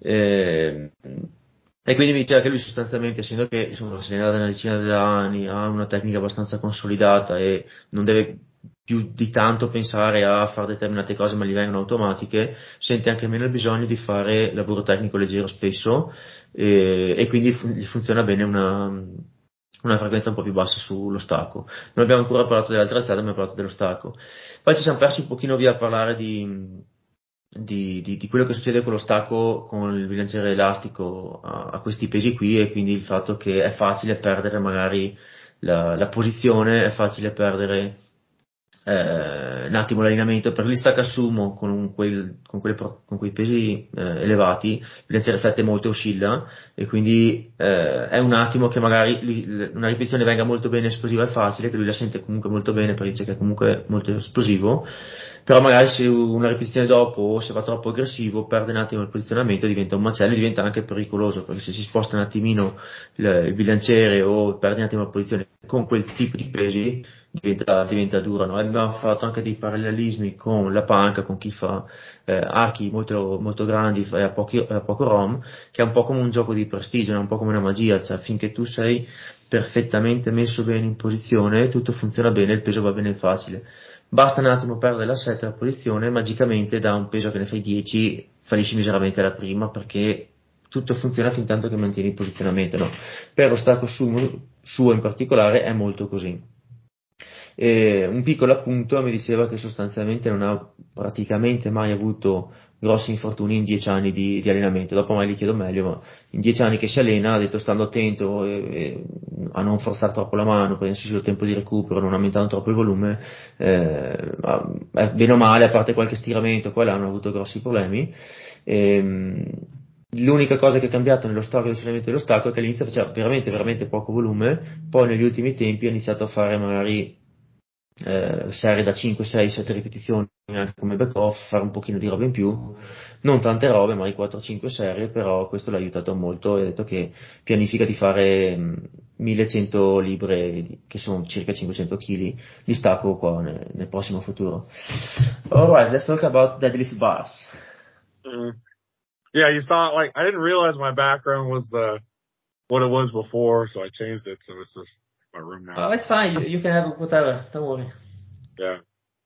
E quindi mi diceva che lui sostanzialmente, essendo che insomma, si allena da una decina di anni, ha una tecnica abbastanza consolidata e non deve più di tanto pensare a fare determinate cose, ma gli vengono automatiche, sente anche meno il bisogno di fare lavoro tecnico leggero spesso, e quindi gli funziona bene una frequenza un po' più bassa sullo stacco. Non abbiamo ancora parlato delle altre alzate, abbiamo parlato dello stacco. Poi ci siamo persi un pochino via a parlare di quello che succede con lo stacco, con il bilanciere elastico a questi pesi qui, e quindi il fatto che è facile perdere magari la posizione, è facile perdere un attimo l'allenamento, perché gli stack assumo con quei pesi elevati, il bilanciere fette molto oscilla e quindi è un attimo che magari una ripetizione venga molto bene esplosiva e facile, che lui la sente comunque molto bene perché dice che è comunque molto esplosivo, però magari se una ripetizione dopo o se va troppo aggressivo perde un attimo il posizionamento, diventa un macello e diventa anche pericoloso perché se si sposta un attimino il bilanciere o perde un attimo la posizione con quel tipo di pesi diventa dura, no? Abbiamo fatto anche dei parallelismi con la panca, con chi fa archi molto, molto grandi e a poco ROM, che è un po' come un gioco di prestigio, è un po' come una magia, cioè finché tu sei perfettamente messo bene in posizione, tutto funziona bene, il peso va bene facile. Basta un attimo perdere l'assetto e la posizione, magicamente da un peso che ne fai 10 fallisci miseramente alla prima perché tutto funziona fin tanto che mantieni il posizionamento, no? Per lo stacco suo in particolare è molto così. E un piccolo appunto mi diceva che sostanzialmente non ha praticamente mai avuto grossi infortuni in 10 anni di allenamento. Dopo mai gli chiedo meglio, ma in 10 anni che si allena ha detto stando attento a non forzare troppo la mano, prendersi il tempo di recupero, non aumentando troppo il volume, bene o male, a parte qualche stiramento, qua hanno avuto grossi problemi. Ehm, L'unica cosa che è cambiato nello storico del allenamento dello stacco è che all'inizio faceva veramente, veramente poco volume, poi negli ultimi tempi ha iniziato a fare magari serie da 5, 6, 7 ripetizioni anche come back off, fare un pochino di roba in più, non tante robe, magari 4-5 serie, però questo l'ha aiutato molto e ha detto che pianifica di fare 1100 libre, che sono circa 500 kg, di stacco qua nel prossimo futuro. Alright, let's talk about deadlift bars. Mm. Yeah, you saw, like, I didn't realize my background was what it was before, so I changed it, so it's just my room now. Oh, it's fine, you can have whatever, don't worry. Yeah.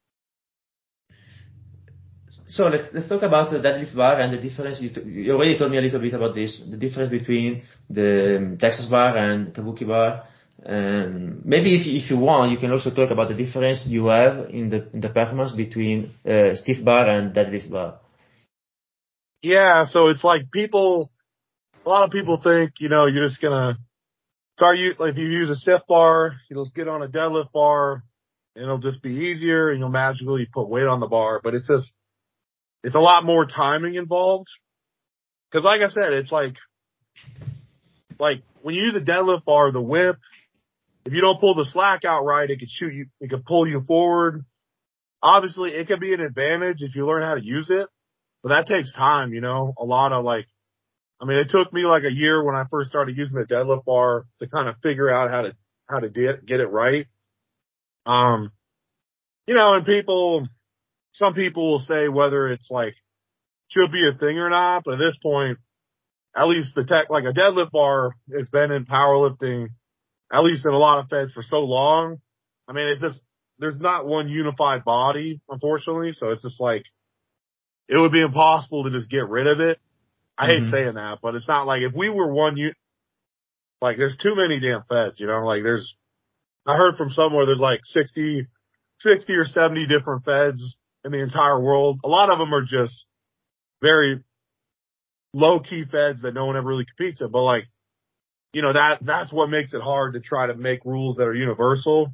So let's talk about the deadlift bar and the difference. You already told me a little bit about this, the difference between the Texas bar and Kabuki bar. Maybe if you want, you can also talk about the difference you have in the performance between stiff bar and deadlift bar. Yeah, so it's like a lot of people think, you're just gonna like if you use a stiff bar, you'll just get on a deadlift bar, and it'll just be easier, and you'll magically put weight on the bar. But it's a lot more timing involved. Cause like I said, it's like when you use a deadlift bar, the whip, if you don't pull the slack out right, it could pull you forward. Obviously, it can be an advantage if you learn how to use it, but that takes time, a lot of it took me like a year when I first started using the deadlift bar to kind of figure out how to get it right. And some people will say whether it's like should be a thing or not, but at this point, at least like a deadlift bar has been in powerlifting, at least in a lot of feds for so long. It's just, there's not one unified body, unfortunately. So it's just like, it would be impossible to just get rid of it. I hate saying that, but it's not like if we were like there's too many damn feds, like I heard from somewhere there's like 60 or 70 different feds in the entire world. A lot of them are just very low key feds that no one ever really competes in, but like, that's what makes it hard to try to make rules that are universal.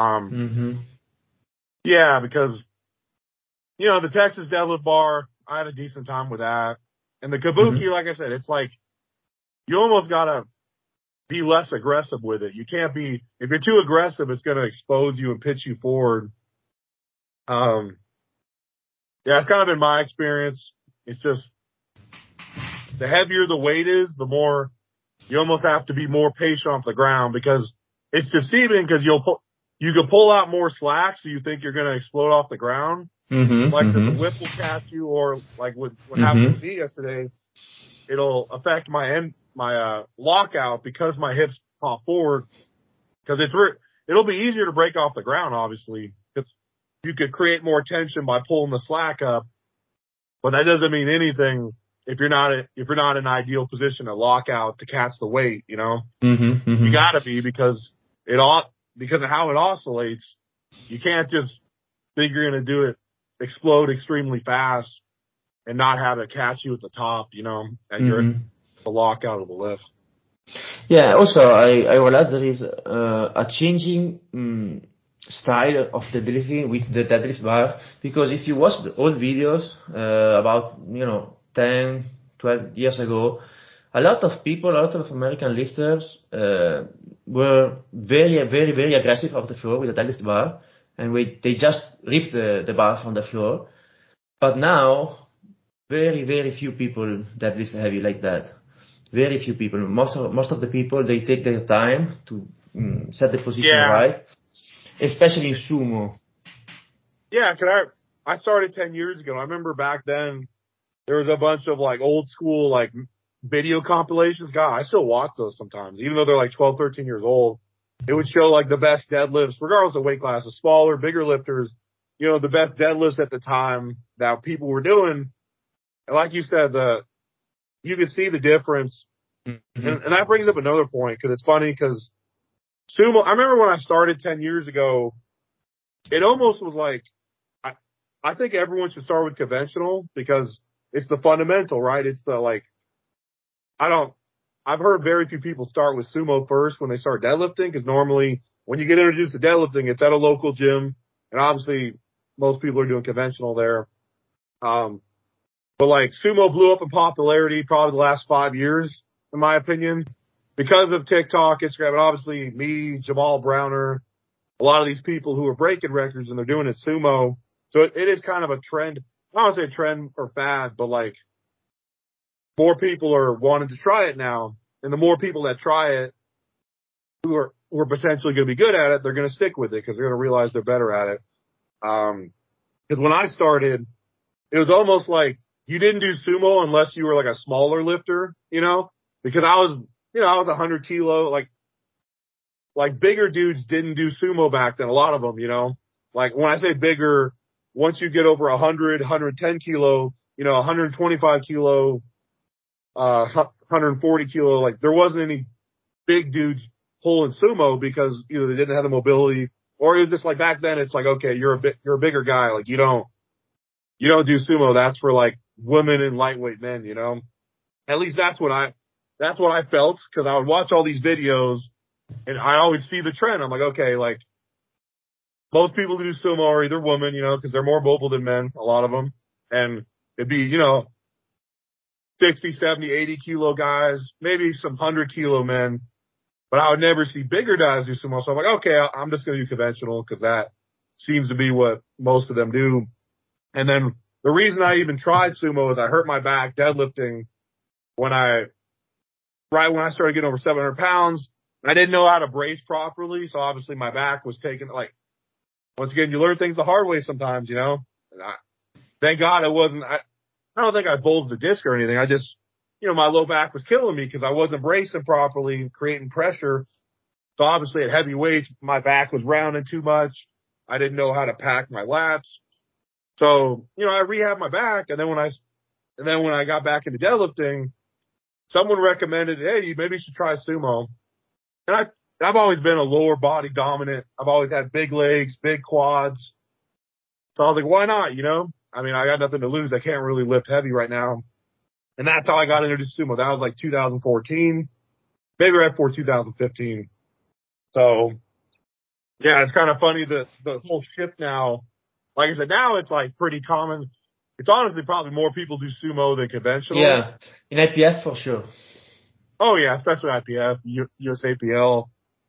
Yeah, because, the Texas deadlift bar, I had a decent time with that. And the Kabuki, like I said, it's like, you almost gotta be less aggressive with it. You can't be, if you're too aggressive, it's gonna expose you and pitch you forward. Yeah, it's kind of been my experience. It's just, the heavier the weight is, the more, you almost have to be more patient off the ground because it's deceiving because you can pull out more slack so you think you're gonna explode off the ground. Like I said, the whip will catch you, or like what happened with me yesterday, it'll affect my lockout because my hips pop forward. Because it'll be easier to break off the ground, obviously, because you could create more tension by pulling the slack up. But that doesn't mean anything if you're not in an ideal position to lock out to catch the weight. You gotta be because of how it oscillates. You can't just think you're gonna do it explode extremely fast and not have it catch you at the top, and you're the lockout of the lift. Yeah, also I realized there is a changing style of deadlifting with the deadlift bar, because if you watch the old videos about 10, 12 years ago, a lot of people, a lot of American lifters were very aggressive off the floor with the deadlift bar, and they just ripped the bar from the floor. But now, very few people deadlift heavy like that. Very few people. Most of the people, they take their time to set the position right, especially in sumo. Yeah, I started 10 years ago. I remember back then there was a bunch of like old school like video compilations. God, I still watch those sometimes, even though they're like 12, 13 years old. It would show like the best deadlifts, regardless of weight classes, smaller, bigger lifters, the best deadlifts at the time that people were doing. And like you said, you could see the difference. Mm-hmm. And that brings up another point, because it's funny, because sumo, I remember when I started 10 years ago, it almost was like, I think everyone should start with conventional, because it's the fundamental, right? It's the like, I've heard very few people start with sumo first when they start deadlifting, because normally when you get introduced to deadlifting, it's at a local gym, and obviously most people are doing conventional there. But like sumo blew up in popularity probably the last 5 years, in my opinion, because of TikTok, Instagram, and obviously me, Jamal Browner, a lot of these people who are breaking records and they're doing it sumo. So it is kind of a trend. I don't want to say a trend or fad, but like more people are wanting to try it now. And the more people that try it who are potentially going to be good at it, they're going to stick with it because they're going to realize they're better at it. Because when I started, it was almost like you didn't do sumo unless you were like a smaller lifter, because I was 100 kilo, like bigger dudes didn't do sumo back then. A lot of them, like when I say bigger, once you get over 100, 110 kilo, 125 kilo, 140 kilo, like there wasn't any big dudes pulling sumo because either they didn't have the mobility, or it was just like back then it's like, okay, you're a bigger guy. Like you don't do sumo. That's for like women and lightweight men, At least that's what I felt, because I would watch all these videos and I always see the trend. I'm like, okay, like most people who do sumo are either women, because they're more mobile than men, a lot of them. And it'd be, 60, 70, 80 kilo guys, maybe some 100 kilo men, but I would never see bigger guys do sumo. So I'm like, okay, I'm just going to do conventional, because that seems to be what most of them do. And then the reason I even tried sumo is I hurt my back deadlifting right when I started getting over 700 pounds. I didn't know how to brace properly, so obviously my back was taken. Like, once again, you learn things the hard way sometimes, And thank God it wasn't. I don't think I bulged the disc or anything. I just, my low back was killing me because I wasn't bracing properly, creating pressure. So obviously at heavy weights, my back was rounding too much. I didn't know how to pack my lats. So, I rehabbed my back, and then when I got back into deadlifting, someone recommended, hey, maybe you should try sumo. And I've always been a lower body dominant. I've always had big legs, big quads. So I was like, why not, I mean, I got nothing to lose. I can't really lift heavy right now. And that's how I got introduced to sumo. That was like 2014, maybe right before 2015. So yeah, it's kind of funny the whole shift now. Like I said, now it's like pretty common. It's honestly probably more people do sumo than conventional. Yeah, in IPF for sure. Oh yeah, especially IPF, USAPL.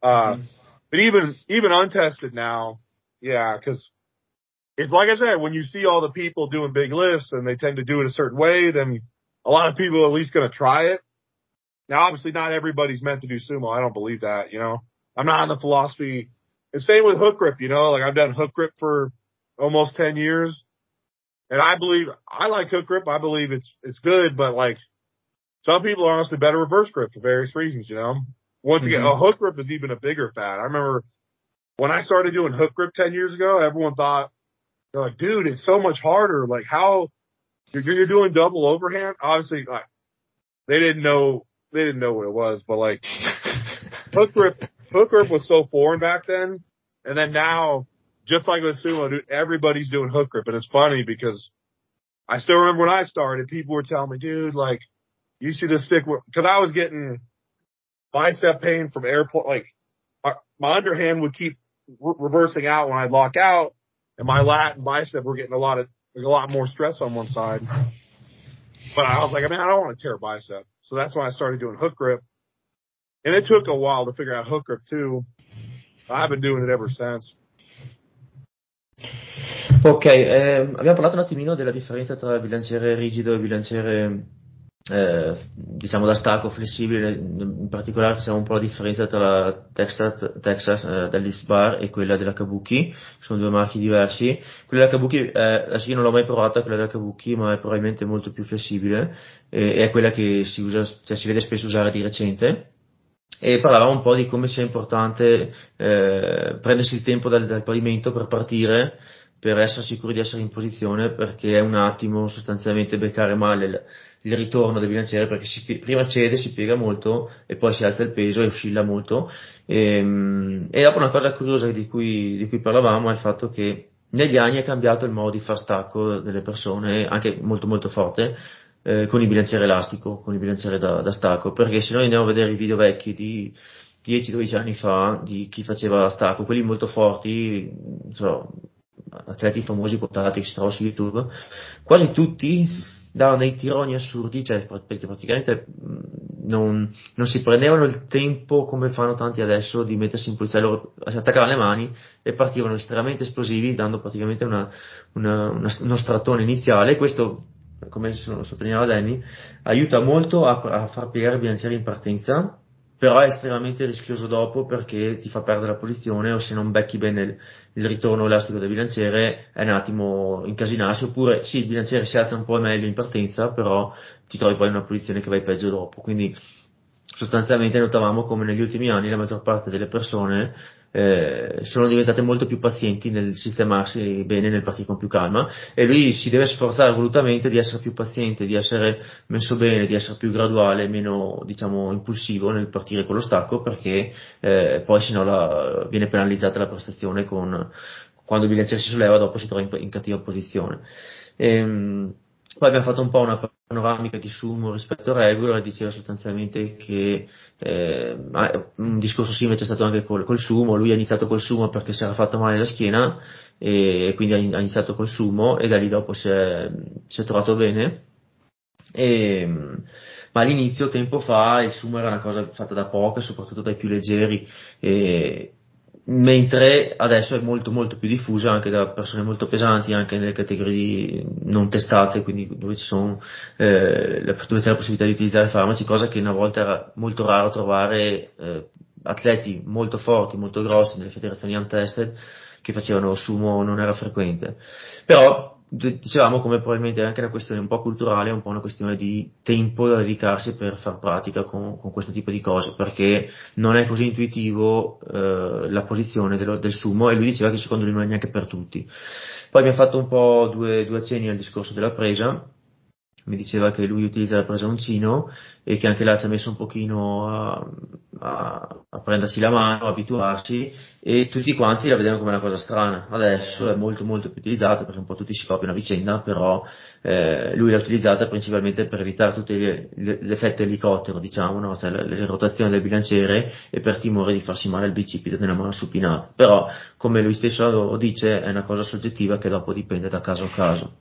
But even untested now, yeah, because it's like I said, when you see all the people doing big lifts and they tend to do it a certain way, then a lot of people are at least going to try it. Now, obviously, not everybody's meant to do sumo. I don't believe that, I'm not on the philosophy. And same with hook grip, like I've done hook grip for almost 10 years. And I like hook grip. I believe it's good, but like some people are honestly better reverse grip for various reasons, Once again, a hook grip is even a bigger fad. I remember when I started doing hook grip 10 years ago, everyone thought, they're like, dude, it's so much harder. Like how you're doing double overhand. Obviously, like they didn't know what it was, but like hook grip was so foreign back then. And then now, just like with sumo, dude, everybody's doing hook grip. And it's funny because I still remember when I started, people were telling me, dude, like you should just stick with, because I was getting bicep pain from airport. Like my underhand would keep reversing out when I'd lock out, and my lat and bicep were getting a lot more stress on one side. But I was like, man, I don't want to tear a bicep. So that's when I started doing hook grip. And it took a while to figure out hook grip too. I've been doing it ever since. Ok, abbiamo parlato un attimino della differenza tra bilanciere rigido e bilanciere diciamo da stacco flessibile, in particolare facciamo un po' la differenza tra la Texas deadlift bar e quella della Kabuki, sono due marchi diversi. Quella della Kabuki, adesso io non l'ho mai provata, quella della Kabuki, ma è probabilmente molto più flessibile e è quella che si usa, cioè si vede spesso usare di recente. E parlavamo un po' di come sia importante prendersi il tempo dal pavimento per partire, per essere sicuri di essere in posizione, perché è un attimo sostanzialmente beccare male il ritorno del bilanciere, perché prima cede, si piega molto e poi si alza il peso e oscilla molto. E dopo una cosa curiosa di cui parlavamo è il fatto che negli anni è cambiato il modo di far stacco delle persone, anche molto molto forte, con il bilanciere elastico, con il bilanciere da stacco, perché se noi andiamo a vedere i video vecchi di 10-12 anni fa di chi faceva stacco, quelli molto forti, non so, atleti famosi quotati che si trovano su YouTube, quasi tutti davano dei tironi assurdi, cioè perché praticamente non si prendevano il tempo come fanno tanti adesso di mettersi in posizione, loro si attaccavano le mani e partivano estremamente esplosivi, dando praticamente uno strattone iniziale, e questo, come sottolineava Danny, aiuta molto a far piegare il bilanciere in partenza, però è estremamente rischioso dopo perché ti fa perdere la posizione, o se non becchi bene il ritorno elastico del bilanciere è un attimo incasinarsi, oppure sì, il bilanciere si alza un po' meglio in partenza, però ti trovi poi in una posizione che vai peggio dopo. Quindi sostanzialmente notavamo come negli ultimi anni la maggior parte delle persone sono diventate molto più pazienti nel sistemarsi bene, nel partire con più calma, e lui si deve sforzare volutamente di essere più paziente, di essere messo bene, di essere più graduale, meno diciamo impulsivo nel partire con lo stacco, perché poi sennò viene penalizzata la prestazione quando il bilanciere si solleva, dopo si trova in cattiva posizione. Poi abbiamo fatto un po' una panoramica di sumo rispetto a regular, e diceva sostanzialmente che un discorso simile c'è stato anche col sumo. Lui ha iniziato col sumo perché si era fatto male la schiena e quindi ha iniziato col sumo, e da lì dopo si è trovato bene. E, ma all'inizio, tempo fa, il sumo era una cosa fatta da poco, soprattutto dai più leggeri, e, mentre adesso è molto molto più diffusa anche da persone molto pesanti, anche nelle categorie non testate, quindi dove dove c'è la possibilità di utilizzare farmaci, cosa che una volta era molto raro trovare atleti molto forti, molto grossi nelle federazioni untested che facevano sumo, non era frequente. Però dicevamo come probabilmente è anche una questione un po' culturale, un po' una questione di tempo da dedicarsi per far pratica con questo tipo di cose, perché non è così intuitivo la posizione del sumo, e lui diceva che secondo lui non è neanche per tutti. Poi abbiamo fatto un po' due accenni al discorso della presa. Mi diceva che lui utilizza la presa a uncino e che anche là ci ha messo un pochino a prendersi la mano, a abituarsi, e tutti quanti la vedevano come una cosa strana. Adesso è molto molto più utilizzata perché un po' tutti si copiano a vicenda, però lui l'ha utilizzata principalmente per evitare tutto l'effetto elicottero, diciamo, no? Cioè le rotazioni del bilanciere, e per timore di farsi male al bicipite nella mano supinata. Però, come lui stesso lo dice, è una cosa soggettiva che dopo dipende da caso a caso.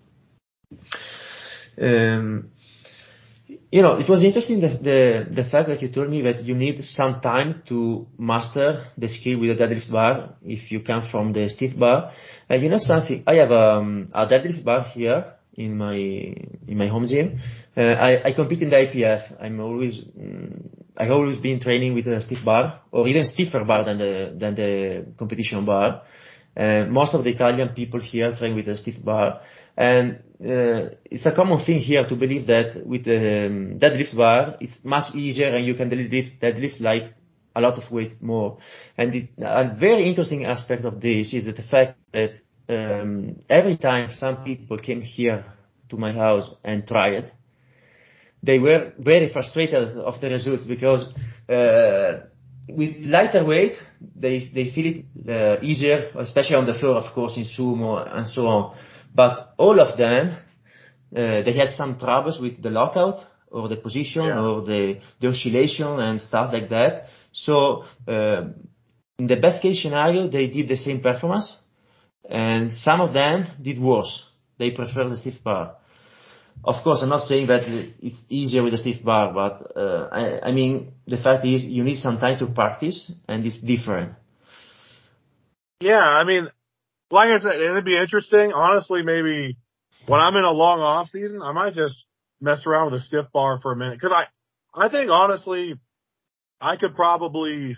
Um, it was interesting the fact that you told me that you need some time to master the skill with the deadlift bar if you come from the stiff bar. And you know something, I have a deadlift bar here in my home gym. I compete in the IPF. I've always been training with a stiff bar, or even stiffer bar than the competition bar. Most of the Italian people here train with a stiff bar, and it's a common thing here to believe that with the deadlift bar it's much easier and you can deadlift like a lot of weight more. And a very interesting aspect of this is that the fact that every time some people came here to my house and tried, they were very frustrated of the results, because with lighter weight they feel it easier, especially on the floor, of course, in sumo and so on. But all of them, they had some troubles with the lockout, or the position, or the oscillation and stuff like that. So in the best case scenario, they did the same performance, and some of them did worse. They prefer the stiff bar. Of course, I'm not saying that it's easier with the stiff bar, but I mean, the fact is you need some time to practice, and it's different. Yeah, I mean, like I said, it'd be interesting. Honestly, maybe when I'm in a long off season, I might just mess around with a stiff bar for a minute. Cause I think honestly, I could pull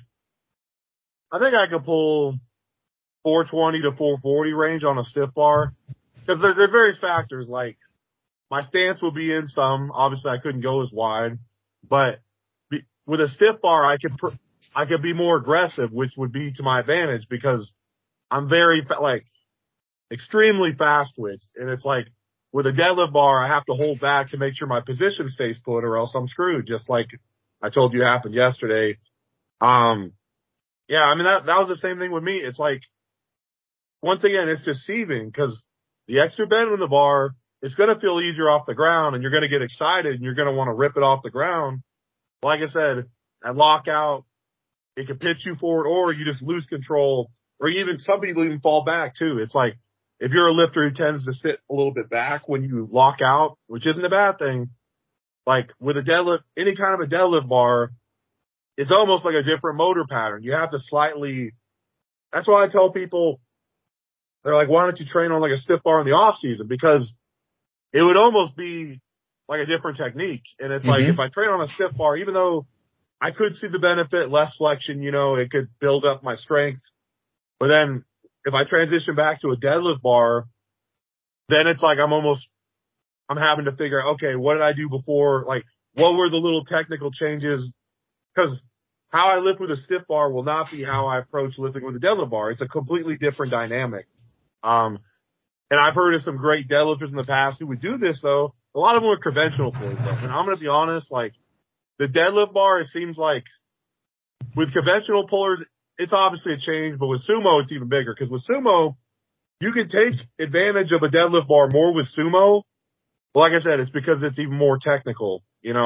420 to 440 range on a stiff bar. Cause there are various factors, like my stance will be in some. Obviously I couldn't go as wide, but with a stiff bar, I could be more aggressive, which would be to my advantage because I'm very, extremely fast twitched. And it's like with a deadlift bar, I have to hold back to make sure my position stays put or else I'm screwed. Just like I told you happened yesterday. Yeah, I mean, that was the same thing with me. It's like, once again, it's deceiving because the extra bend in the bar, it's going to feel easier off the ground and you're going to get excited and you're going to want to rip it off the ground. Like I said, at lockout, it can pitch you forward or you just lose control or even some people even fall back too. It's like, if you're a lifter who tends to sit a little bit back when you lock out, which isn't a bad thing, like with a deadlift, any kind of a deadlift bar, it's almost like a different motor pattern. You have to that's why I tell people, they're like, why don't you train on like a stiff bar in the off season? Because it would almost be like a different technique. And it's like, if I train on a stiff bar, even though I could see the benefit, less flexion, it could build up my strength. But then if I transition back to a deadlift bar, then it's like I'm having to figure out, okay, what did I do before? Like, what were the little technical changes? Because how I lift with a stiff bar will not be how I approach lifting with a deadlift bar. It's a completely different dynamic. And I've heard of some great deadlifters in the past who would do this though. A lot of them are conventional pulls though. And I'm going to be honest, like the deadlift bar, it seems like with conventional pullers, it's obviously a change, but with sumo, it's even bigger because with sumo, you can take advantage of a deadlift bar more with sumo. But like I said, it's because it's even more technical,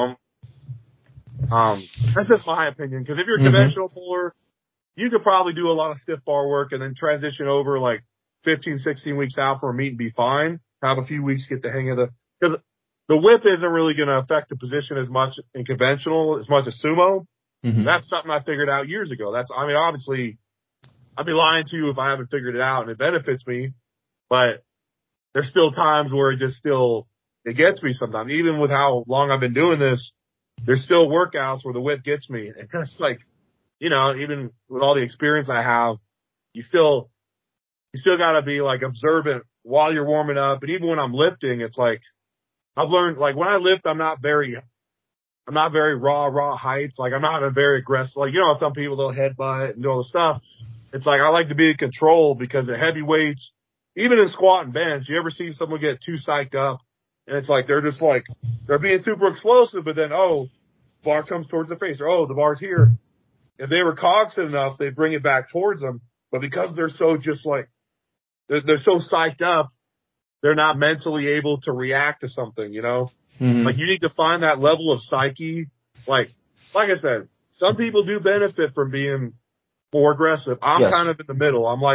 That's just my opinion. Because if you're a conventional puller, you could probably do a lot of stiff bar work and then transition over like 15, 16 weeks out for a meet and be fine. Have a few weeks, get the hang of because the whip isn't really going to affect the position as much in conventional as much as sumo. That's something I figured out years ago. Obviously, I'd be lying to you if I haven't figured it out and it benefits me, but there's still times where it gets me sometimes. Even with how long I've been doing this, there's still workouts where the whip gets me. And it's like, even with all the experience I have, you still gotta be like observant while you're warming up. And even when I'm lifting, it's like, I've learned, like when I lift, I'm not very raw hyped. Like I'm not a very aggressive, like, some people they'll headbutt and do all the stuff. It's like, I like to be in control because at heavy weights, even in squat and bench, you ever see someone get too psyched up and it's like, they're just like, they're being super explosive, but then, bar comes towards the face or, the bar's here. If they were cognizant enough, they bring it back towards them. But because they're so just like, they're so psyched up, they're not mentally able to react to something, Like you need to find that level of psyche. Like I said, some people do benefit from being more aggressive. I'm kind of in the middle. I'm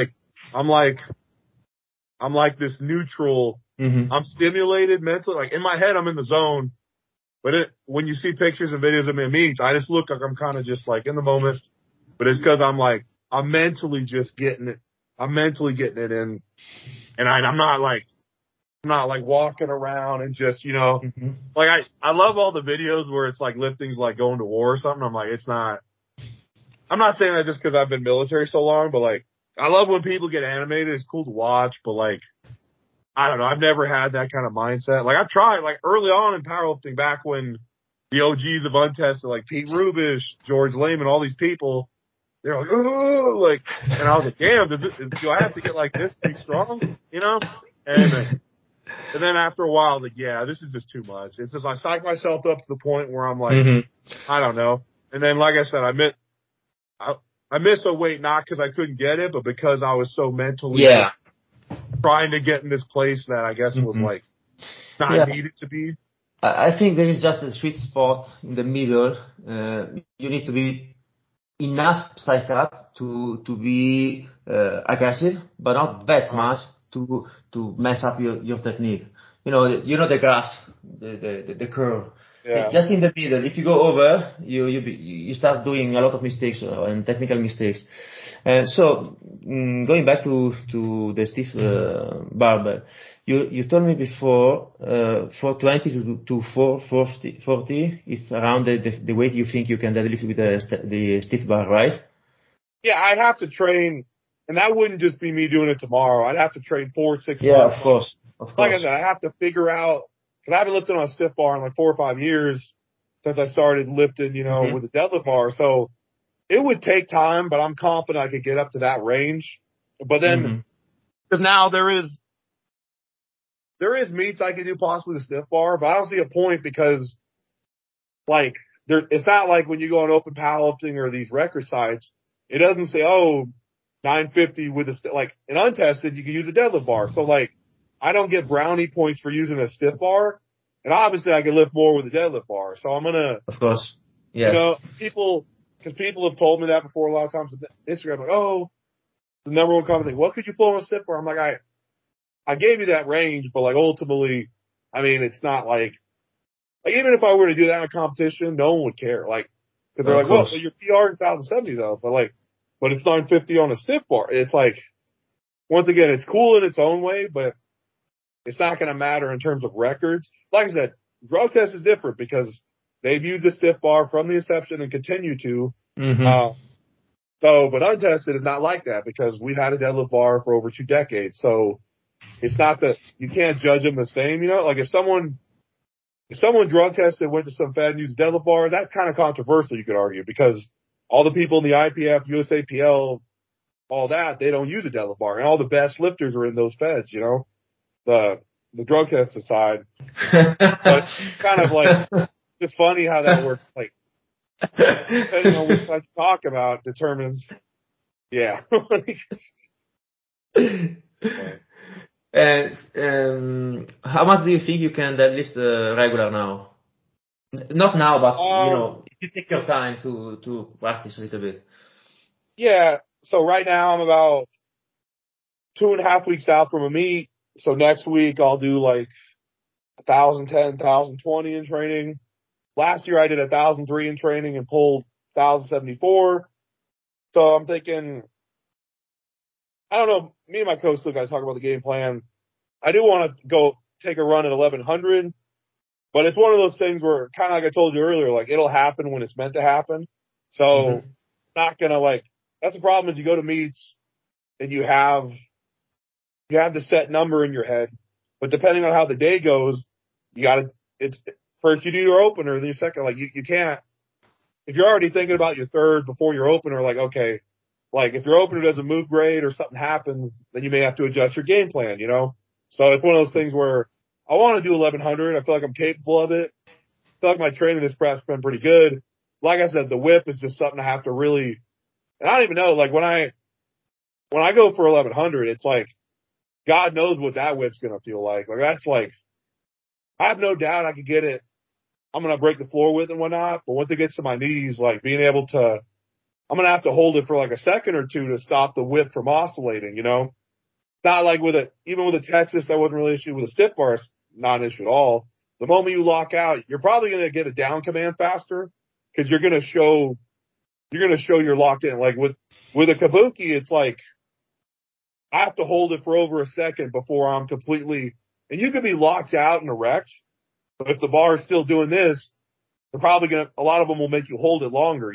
like this neutral. I'm stimulated mentally. Like in my head, I'm in the zone. But when you see pictures and videos of me at meets, I just look like I'm kind of just like in the moment. But it's because I'm mentally just getting it. I'm mentally getting it in. And I'm not like walking around and just, like I love all the videos where it's like lifting's like going to war or something. I'm like, I'm not saying that just because I've been military so long, but like, I love when people get animated. It's cool to watch, but like, I don't know. I've never had that kind of mindset. Like I've tried like early on in powerlifting back when the OGs of untested, like Pete Rubish, George Lehman, all these people, they're like, oh, like, and I was like, damn, do I have to get like this to be strong? And then after a while, I was like, yeah, this is just too much. It's just I psych myself up to the point where I'm like, I don't know. And then, like I said, I missed a weight not because I couldn't get it, but because I was so mentally trying to get in this place that I guess was like not needed to be. I think there is just a sweet spot in the middle. You need to be enough psych to be aggressive, but not that much to mess up your technique. You know the graph, the curve. Yeah. Just in the middle. If you go over, you start doing a lot of mistakes and technical mistakes. So going back to the stiff barbell, you told me before 420 to 440 is around the weight you think you can deadlift with the stiff bar, right? Yeah, I'd have to train, and that wouldn't just be me doing it tomorrow. I'd have to train 4-6 Yeah, months. of course. Like I said, I have to figure out, because I haven't lifted on a stiff bar in like 4 or 5 years since I started lifting, with a deadlift bar. So it would take time, but I'm confident I could get up to that range. But then, because now there is meets I could do possibly with a stiff bar, but I don't see a point because, like, it's not like when you go on open powerlifting or these record sites, it doesn't say, 950 with like, an untested, you can use a deadlift bar. So, like, I don't get brownie points for using a stiff bar. And obviously I can lift more with a deadlift bar. So I'm going to, of course, yeah. people have told me that before a lot of times on Instagram, like, the number one common thing, what could you pull on a stiff bar? I'm like, I gave you that range, but like ultimately, I mean, it's not like even if I were to do that in a competition, no one would care. Like, cause they're like, well, your PR is 1070 though, but it's 950 on a stiff bar. It's like, once again, it's cool in its own way, but it's not going to matter in terms of records. Like I said, drug test is different because they've used the stiff bar from the inception and continue to. But untested is not like that because we've had a deadlift bar for over 2 decades. So it's not that you can't judge them the same, like if someone drug tested, went to some fed and used a deadlift bar, that's kind of controversial, you could argue, because all the people in the IPF, USAPL, all that, they don't use a deadlift bar. And all the best lifters are in those feds, the drug test aside. But kind of like, it's funny how that works. Like, depending on which side you talk about determines, yeah. And how much do you think you can deadlift regular now? Not now, but if you take your time to practice a little bit. Yeah. So right now I'm about 2.5 weeks out from a meet. So next week I'll do like 1,010, 1,020 in training. Last year I did 1,003 in training and pulled 1,074. So I'm thinking, I don't know, me and my coach still got to talk about the game plan. I do want to go take a run at 1,100, but it's one of those things where, kind of like I told you earlier, like it'll happen when it's meant to happen. So not going to that's the problem is you go to meets and you have the set number in your head, but depending on how the day goes, it's first you do your opener, then your second, like you can't, if you're already thinking about your third before your opener, like, okay, like if your opener doesn't move great or something happens, then you may have to adjust your game plan, So it's one of those things where I want to do 1,100. I feel like I'm capable of it. I feel like my training this prep's been pretty good. Like I said, the whip is just something I have to really, and I don't even know, like when I go for 1,100, it's like, God knows what that whip's going to feel like. Like that's like, I have no doubt I could get it. I'm going to break the floor with and whatnot. But once it gets to my knees, like being able to, I'm going to have to hold it for like a second or two to stop the whip from oscillating, Not like even with a Texas, that wasn't really an issue. With a stiff bar, it's not an issue at all. The moment you lock out, you're probably going to get a down command faster because you're going to show you're locked in. Like with a kabuki, it's like, I have to hold it for over a second before I'm completely, and you could be locked out and erect, but if the bar is still doing this, they're probably a lot of them will make you hold it longer,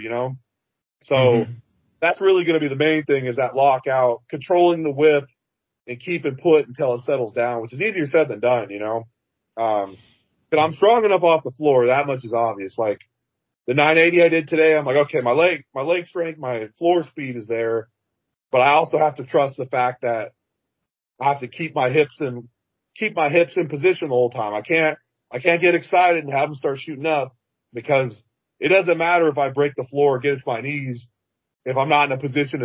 So that's really going to be the main thing is that lockout, controlling the whip and keep it put until it settles down, which is easier said than done, but I'm strong enough off the floor. That much is obvious. Like the 980 I did today, I'm like, okay, my leg strength, my floor speed is there. But I also have to trust the fact that I have to keep my hips in position the whole time. I can't get excited and have them start shooting up because it doesn't matter if I break the floor or get to my knees if I'm not in a position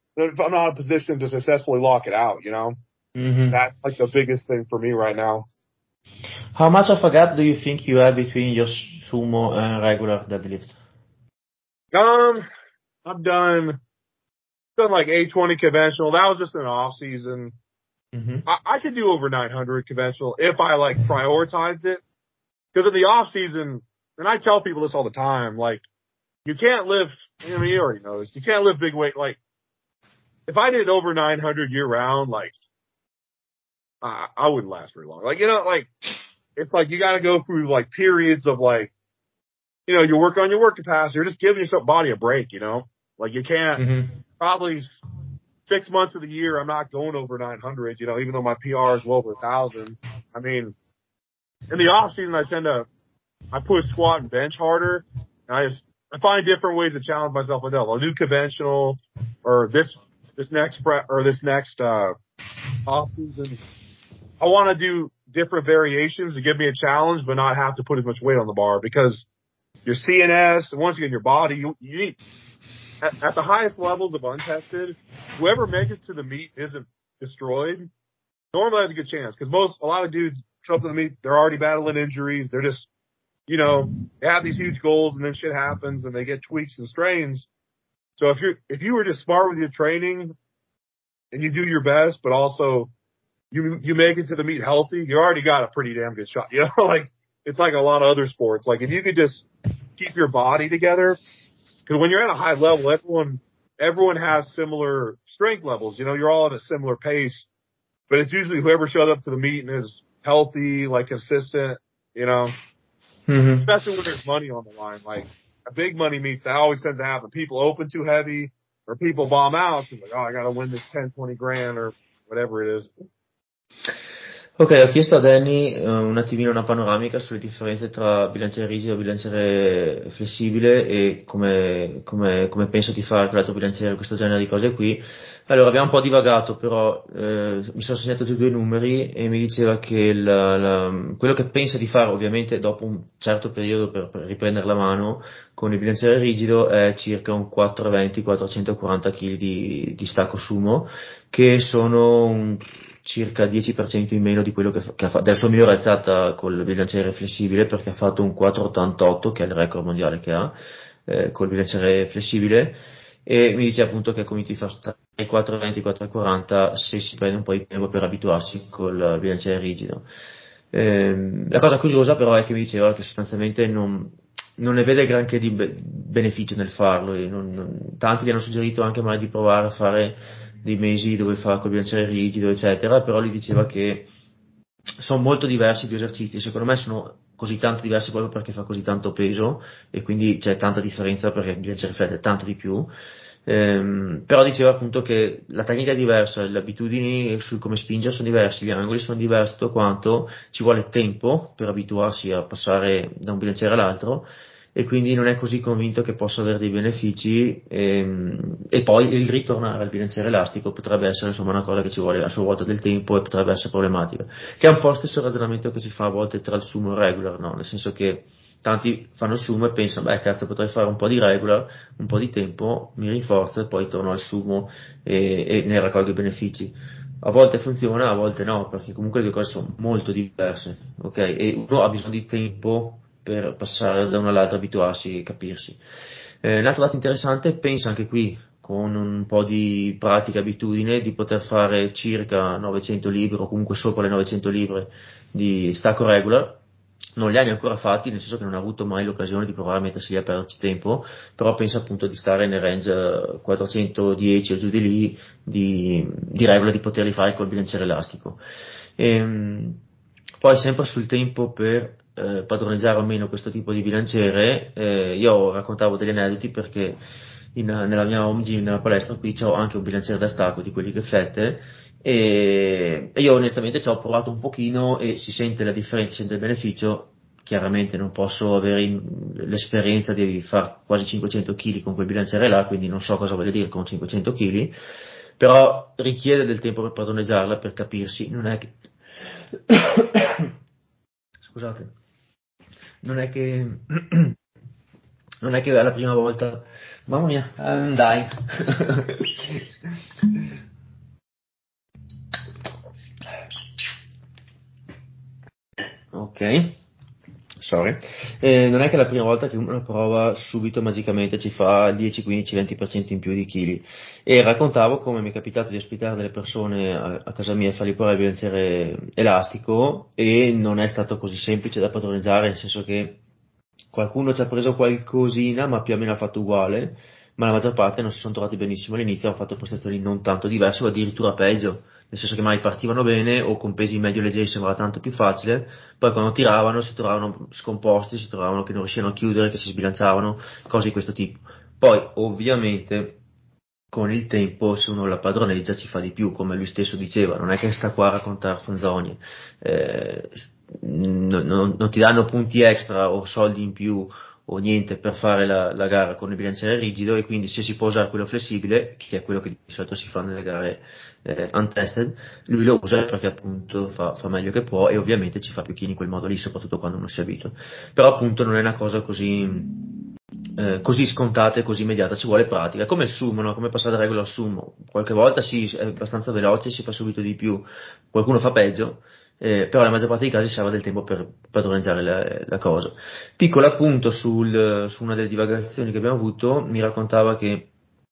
to successfully lock it out. That's like the biggest thing for me right now. How much of a gap do you think you have between your sumo and regular deadlift? I've done like 820 conventional. That was just an off season. Mhm. I could do over 900 conventional if I like prioritized it. Because in the off season, and I tell people this all the time, like you can't lift. I mean, you already know this. You can't lift big weight. Like if I did over 900 year round, like I wouldn't last very long. Like like it's like you got to go through like periods of like you work on your work capacity. You're just giving yourself body a break. Like you can't Mhm. probably 6 months of the year. I'm not going over 900. Even though my PR is well over 1,000. I mean, in the off season, I push squat and bench harder. And I find different ways to challenge myself with that. I'll do conventional or this next prep or this next, off season. I want to do different variations to give me a challenge, but not have to put as much weight on the bar because your CNS and once you get in your body, you need at the highest levels of untested, whoever makes it to the meet isn't destroyed. Normally has a good chance because a lot of dudes show up to the meet, they're already battling injuries. They're just they have these huge goals and then shit happens and they get tweaks and strains. So if you were just smart with your training and you do your best, but also you make it to the meet healthy, you already got a pretty damn good shot. Like it's like a lot of other sports. Like if you could just keep your body together, because when you're at a high level, everyone has similar strength levels. You're all at a similar pace, but it's usually whoever showed up to the meet and is healthy, like consistent. Mhm. Especially when there's money on the line. Like a big money meets, that always tends to happen. People open too heavy or people bomb out. So like, oh, I got to win this 10, 20 grand or whatever it is. Ok, ho chiesto a Danny un attimino una panoramica sulle differenze tra bilanciere rigido e bilanciere flessibile e come penso di fare con l'altro bilanciere, questo genere di cose qui. Allora, abbiamo un po' divagato, però mi sono segnato giù due numeri e mi diceva che quello che pensa di fare, ovviamente dopo un certo periodo per riprendere la mano con il bilanciere rigido, è circa un 420-440 kg di stacco sumo, che sono circa 10% in meno di quello che ha fatto, della sua migliore alzata col bilanciere flessibile, perché ha fatto un 4,88, che è il record mondiale che ha, col bilanciere flessibile, e mi dice appunto che comunque fa tra i 4,20 e i 4,40 se si prende un po' di tempo per abituarsi col bilanciere rigido. La cosa curiosa però è che mi diceva che sostanzialmente non ne vede granché di beneficio nel farlo, e tanti gli hanno suggerito anche magari di provare a fare dei mesi dove fa col bilanciere rigido, eccetera, però lui diceva che sono molto diversi i due esercizi, secondo me sono così tanto diversi proprio perché fa così tanto peso e quindi c'è tanta differenza perché il bilanciere flat è tanto di più. Però diceva appunto che la tecnica è diversa, le abitudini su come spingere sono diversi, gli angoli sono diversi, tutto quanto, ci vuole tempo per abituarsi a passare da un bilanciere all'altro e quindi non è così convinto che possa avere dei benefici, e poi il ritornare al bilanciere elastico potrebbe essere insomma una cosa che ci vuole a sua volta del tempo e potrebbe essere problematica, che è un po' lo stesso ragionamento che si fa a volte tra il sumo e il regular, no? Nel senso che tanti fanno il sumo e pensano, beh cazzo, potrei fare un po' di regular, un po' di tempo, mi rinforzo e poi torno al sumo e ne raccolgo i benefici. A volte funziona, a volte no, perché comunque le due cose sono molto diverse, ok? E uno ha bisogno di tempo per passare da una all'altra, abituarsi e capirsi. Un altro dato interessante, pensa anche qui, con un po' di pratica e abitudine, di poter fare circa 900 libbre o comunque sopra le 900 libbre di stacco regular. Non li ha ancora fatti, nel senso che non ha avuto mai l'occasione di provare a mettersi lì a perderci tempo, però pensa appunto di stare nel range 410 o giù di lì di regola, di poterli fare col bilanciere elastico. Poi sempre sul tempo per padroneggiare o meno questo tipo di bilanciere, io raccontavo degli aneddoti perché nella mia home gym, nella palestra qui, c'ho anche un bilanciere da stacco di quelli che flette, e io onestamente ci ho provato un pochino e si sente la differenza, si sente il beneficio. Chiaramente non posso avere l'esperienza di fare quasi 500 kg con quel bilanciere là, quindi non so cosa voglia dire con 500 kg, però richiede del tempo per padroneggiarla, per capirsi, non è che scusate, non è che non è che è la prima volta, mamma mia, dai. Ok, sorry, non è che la prima volta che uno la prova subito magicamente ci fa 10, 15, 20% in più di chili. E raccontavo come mi è capitato di ospitare delle persone a casa mia e fargli provare il bilanciere elastico e non è stato così semplice da padroneggiare, nel senso che qualcuno ci ha preso qualcosina, ma più o meno ha fatto uguale, ma la maggior parte non si sono trovati benissimo all'inizio, hanno fatto prestazioni non tanto diverse o addirittura peggio, nel senso che magari partivano bene o con pesi medio leggeri sembrava tanto più facile, poi quando tiravano si trovavano scomposti, si trovavano che non riuscivano a chiudere, che si sbilanciavano, cose di questo tipo. Poi ovviamente con il tempo se uno la padroneggia ci fa di più, come lui stesso diceva, non è che sta qua a raccontare fanzonie, eh, non ti danno punti extra o soldi in più o niente per fare la gara con il bilanciere rigido e quindi se si può usare quello flessibile, che è quello che di solito si fa nelle gare untested, lui lo usa perché appunto fa meglio che può e ovviamente ci fa più chini in quel modo lì, soprattutto quando non si abitua. Però appunto non è una cosa così scontata e così immediata, ci vuole pratica, come il sumo, no? Come passare da regola al sumo, qualche volta sì, è abbastanza veloce, si fa subito di più, qualcuno fa peggio, però la maggior parte dei casi serve del tempo per padroneggiare la cosa. Piccolo appunto su una delle divagazioni che abbiamo avuto, mi raccontava che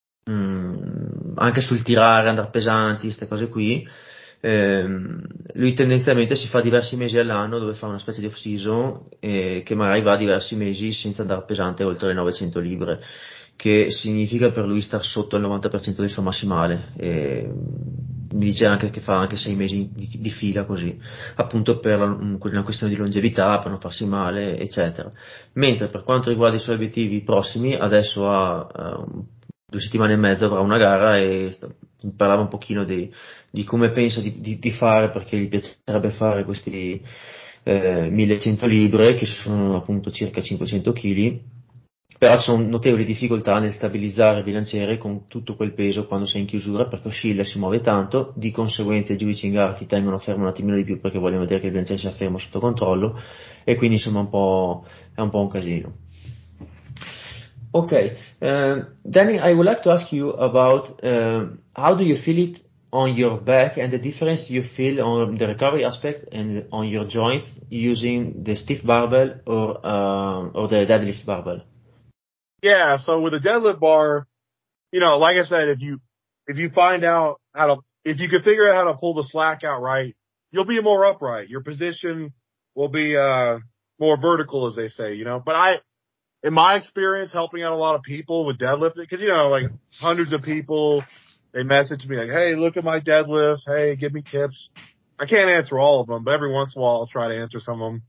anche sul tirare, andare pesanti, queste cose qui, lui tendenzialmente si fa diversi mesi all'anno dove fa una specie di off-season che magari va diversi mesi senza andare pesante oltre le 900 libbre, che significa per lui star sotto il 90% del suo massimale. Mi dice anche che fa anche 6 mesi di fila così, appunto per una questione di longevità, per non farsi male, eccetera. Mentre per quanto riguarda i suoi obiettivi prossimi, adesso ha 2 settimane e mezzo avrà una gara e parlava un pochino di come pensa di fare, perché gli piacerebbe fare questi 1100 libbre, che sono appunto circa 500 kg, però ci sono notevoli difficoltà nel stabilizzare il bilanciere con tutto quel peso quando sei in chiusura, perché oscilla e si muove tanto, di conseguenza i giudici in gara ti tengono fermo un attimino di più perché vogliono vedere che il bilanciere sia fermo sotto controllo, e quindi insomma è un po' un casino. Okay. Danny, I would like to ask you about how do you feel it on your back and the difference you feel on the recovery aspect and on your joints using the stiff barbell or the deadlift barbell? Yeah, so with a deadlift bar, like I said, if you find out if you can figure out how to pull the slack out right, you'll be more upright. Your position will be more vertical, as they say, But in my experience, helping out a lot of people with deadlifting, because like hundreds of people, they message me like, "Hey, look at my deadlift. Hey, give me tips." I can't answer all of them, but every once in a while I'll try to answer some of them.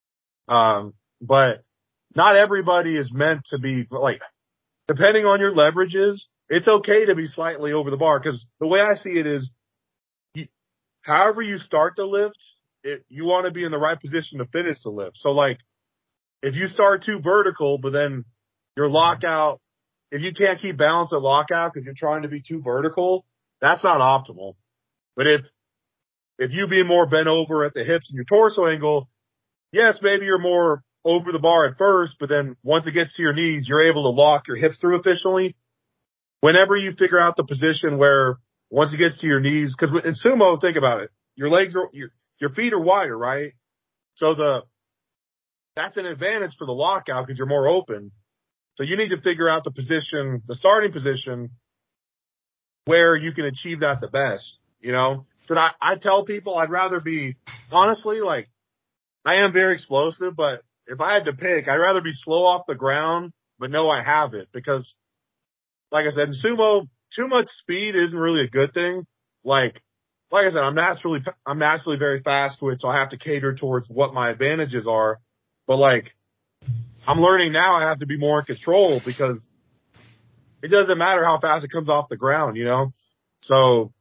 But not everybody is meant to be like, depending on your leverages, it's okay to be slightly over the bar, because the way I see it is, however you start the lift, you want to be in the right position to finish the lift. So like, if you start too vertical, but then your lockout, if you can't keep balance at lockout because you're trying to be too vertical, that's not optimal. But if you be more bent over at the hips and your torso angle, yes, maybe you're more over the bar at first, but then once it gets to your knees, you're able to lock your hips through efficiently. Whenever you figure out the position where once it gets to your knees, because in sumo, think about it, your feet are wider, right? So that's an advantage for the lockout because you're more open. So you need to figure out the starting position where you can achieve that the best, So I tell people I'd rather be, honestly, like, I am very explosive, but if I had to pick, I'd rather be slow off the ground, but know I have it, because like I said, in sumo, too much speed isn't really a good thing. Like I said, I'm naturally very fast twitch, so I have to cater towards what my advantages are. But like, I'm learning now I have to be more in control, because it doesn't matter how fast it comes off the ground, So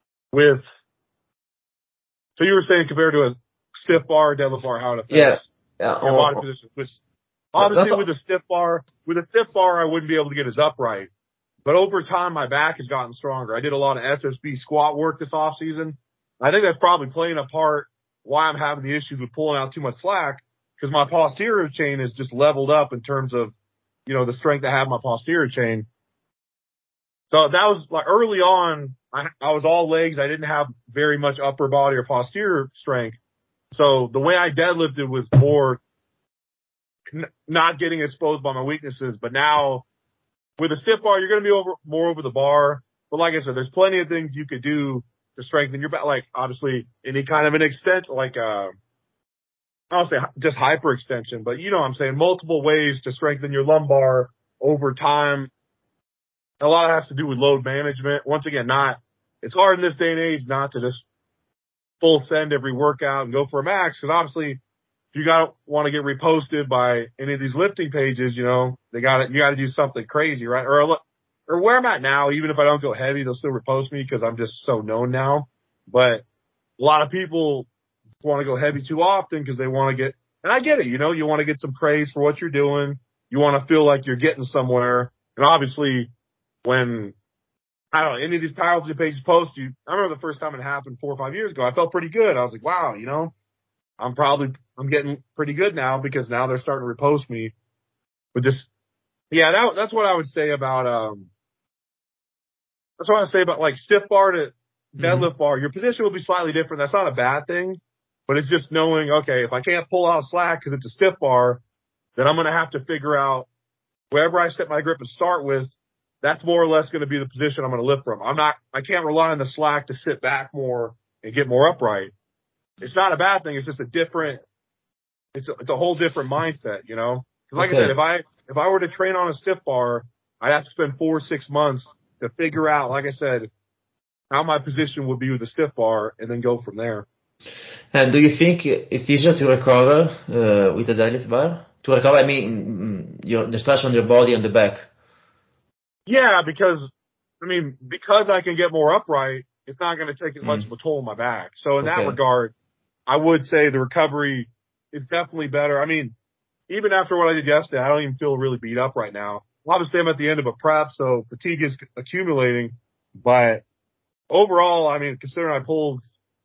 so you were saying compared to a stiff bar or deadlift bar, how it affects your body position. Which obviously with a stiff bar, I wouldn't be able to get as upright. But over time, my back has gotten stronger. I did a lot of SSB squat work this off season. I think that's probably playing a part why I'm having the issues with pulling out too much slack, because my posterior chain is just leveled up in terms of, the strength I have in my posterior chain. So that was like early on, I was all legs. I didn't have very much upper body or posterior strength. So the way I deadlifted was more not getting exposed by my weaknesses. But now with a stiff bar, you're going to be more over the bar. But like I said, there's plenty of things you could do to strengthen your back. Like obviously any kind of an extent, like, I don't say just hyperextension, but you know what I'm saying? Multiple ways to strengthen your lumbar over time. A lot of it has to do with load management. Once again, it's hard in this day and age not to just full send every workout and go for a max. Cause obviously if you want to get reposted by any of these lifting pages, you know, you gotta do something crazy, right? Or where I'm at now, even if I don't go heavy, they'll still repost me because I'm just so known now. But a lot of people want to go heavy too often because they want to get, and I get it, you know, you want to get some praise for what you're doing. You want to feel like you're getting somewhere. And obviously when, I don't know, any of these powerlifting pages post you, I remember the first time it happened 4 or 5 years ago, I felt pretty good. I was like, wow, you know, I'm getting pretty good now because now they're starting to repost me. But just, yeah, that's what I would say about, that's what I say about like stiff bar to deadlift bar. Your position will be slightly different. That's not a bad thing, but it's just knowing, okay, if I can't pull out slack because it's a stiff bar, then I'm going to have to figure out wherever I set my grip and start with, that's more or less going to be the position I'm going to lift from. I can't rely on the slack to sit back more and get more upright. It's not a bad thing. It's just it's a whole different mindset, you know? Cause like I said, if I were to train on a stiff bar, I'd have to spend 4 or 6 months to figure out, like I said, how my position would be with a stiff bar and then go from there. And do you think it's easier to recover with a deadlift bar? To recover, I mean, the stress on your body and the back. Yeah, because I can get more upright, it's not going to take as much of a toll on my back. So in that regard, I would say the recovery is definitely better. I mean, even after what I did yesterday, I don't even feel really beat up right now. Obviously, I'm at the end of a prep, so fatigue is accumulating. But overall, I mean, considering I pulled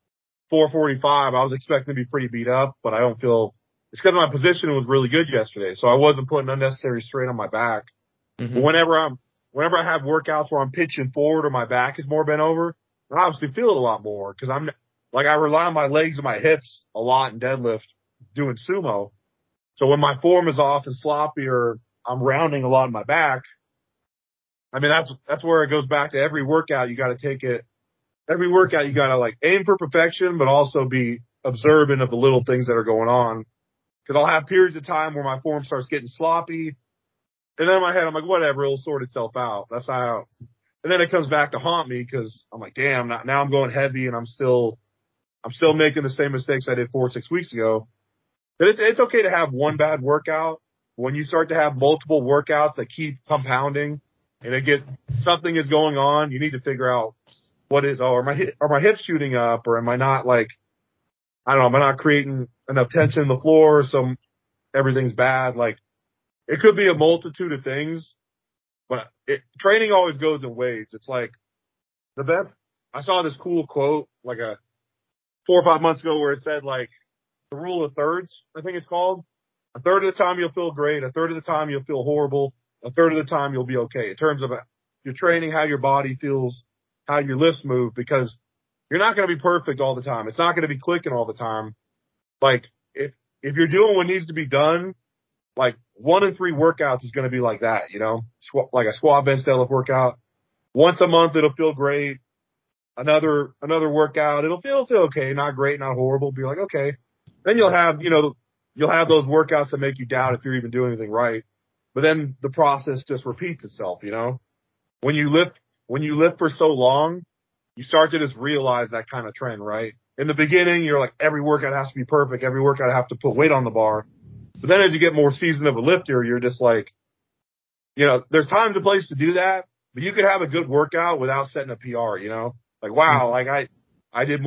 445, I was expecting to be pretty beat up, but I don't feel it's because my position was really good yesterday, so I wasn't putting unnecessary strain on my back. But whenever I have workouts where I'm pitching forward or my back is more bent over, I obviously feel it a lot more because I rely on my legs and my hips a lot in deadlift doing sumo. So when my form is off and sloppy or I'm rounding a lot in my back, I mean, that's where it goes back to every workout. You got to take it. Every workout, you got to like aim for perfection, but also be observant of the little things that are going on. Cause I'll have periods of time where my form starts getting sloppy. And then in my head, I'm like, whatever, it'll sort itself out. That's not how. And then it comes back to haunt me because I'm like, damn, now I'm going heavy and I'm still making the same mistakes I did 4 or 6 weeks ago. But it's okay to have one bad workout. When you start to have multiple workouts that keep compounding and something is going on, you need to figure out what is, are my hips shooting up or am I not like, I don't know, am I not creating enough tension in the floor so everything's bad? Like it could be a multitude of things, but training always goes in waves. It's like I saw this cool quote like 4 or 5 months ago where it said like the rule of thirds, I think it's called. A third of the time you'll feel great. A third of the time you'll feel horrible. A third of the time you'll be okay in terms of your training, how your body feels, how your lifts move, because you're not going to be perfect all the time. It's not going to be clicking all the time. Like if you're doing what needs to be done, like 1 in 3 workouts is going to be like that, you know, like a squat, bench, deadlift workout. Once a month, it'll feel great. Another workout, it'll feel okay. Not great, not horrible. Be like, okay. Then you'll have those workouts that make you doubt if you're even doing anything right. But then the process just repeats itself, you know, when you lift for so long, you start to just realize that kind of trend, right? In the beginning, you're like, every workout has to be perfect. Every workout I have to put weight on the bar. But then as you get more seasoned of a lifter, you're just like, you know, there's times and places to do that, but you could have a good workout without setting a PR, you know, like, wow, like I did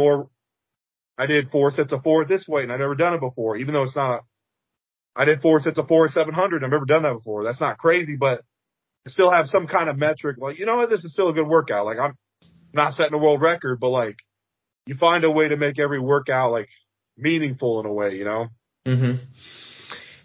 4 sets of 4 at this weight and I've never done it before, even though I did 4 sets of 4 at 700. I've never done that before. That's not crazy, but I still have some kind of metric. Like, you know what? This is still a good workout. Like I'm not setting a world record, but like you find a way to make every workout like meaningful in a way, you know?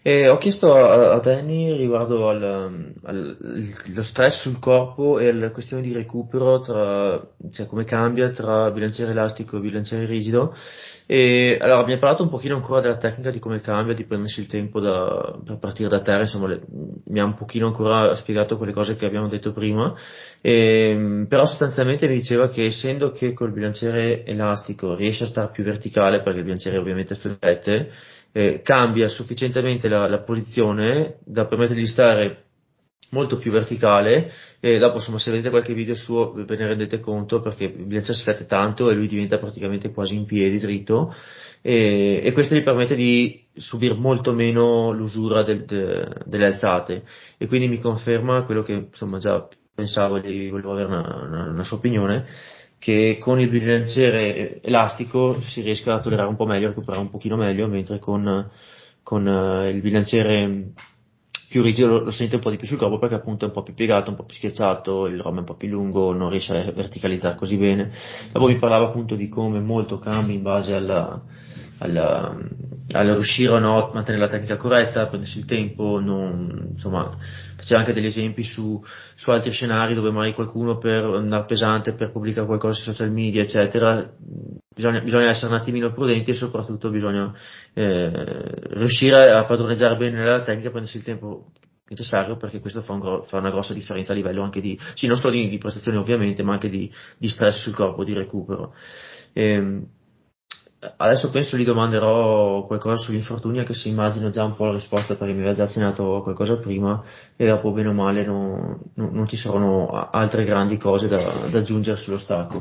Ho chiesto a Danny riguardo allo stress sul corpo e alla questione di recupero, cioè come cambia tra bilanciere elastico e bilanciere rigido. E allora mi ha parlato un pochino ancora della tecnica di come cambia, di prendersi il tempo per partire da terra, insomma, mi ha un pochino ancora spiegato quelle cose che abbiamo detto prima. Però sostanzialmente mi diceva che essendo che col bilanciere elastico riesce a stare più verticale, perché il bilanciere ovviamente flette, cambia sufficientemente la posizione da permettergli di stare molto più verticale. E dopo insomma se vedete qualche video suo ve ne rendete conto, perché il bilanciere si flette tanto e lui diventa praticamente quasi in piedi dritto, e questo gli permette di subire molto meno l'usura delle alzate, e quindi mi conferma quello che insomma già pensavo, e volevo avere una sua opinione, che con il bilanciere elastico si riesca a tollerare un po' meglio, a recuperare un pochino meglio, mentre con il bilanciere più rigido lo sente un po' di più sul corpo, perché appunto è un po' più piegato, un po' più schiacciato, il rom è un po' più lungo, non riesce a verticalizzare così bene. Dopo mi parlava appunto di come molto cambia in base alla, alla riuscire o no a mantenere la tecnica corretta, prendersi il tempo, insomma, faceva anche degli esempi su altri scenari dove magari qualcuno per andare pesante, per pubblicare qualcosa sui social media, eccetera, bisogna essere un attimino prudenti, e soprattutto bisogna riuscire a padroneggiare bene la tecnica, prendersi il tempo necessario, perché questo fa una grossa differenza a livello anche sì, non solo di prestazioni ovviamente, ma anche di stress sul corpo, di recupero. Ehm, Adesso penso gli domanderò qualcosa sugli infortuni, anche se immagino già un po' la risposta, perché mi aveva già accennato qualcosa prima, e dopo bene o male non ci saranno altre grandi cose da aggiungere sullo stacco.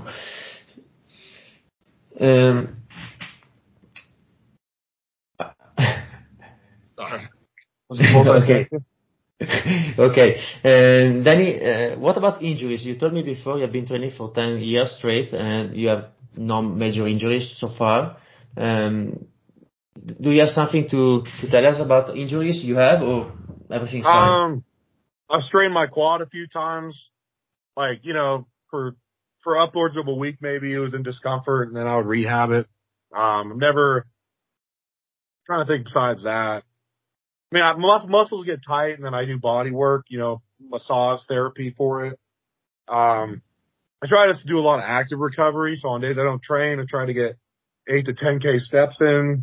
Ehm, Sorry. Was it Okay. multitasking? Okay. Danny, what about injuries? You told me before you have been training for 10 years straight and you have no major injuries so far. Um, do you have something to tell us about injuries you have, or everything's fine? I've strained my quad a few times, like, for upwards of a week maybe it was in discomfort and then I would rehab it. I'm never trying to think besides that. I mean, muscles get tight and then I do body work, massage therapy for it. I try just to do a lot of active recovery. So on days I don't train, I try to get 8 to 10K steps in.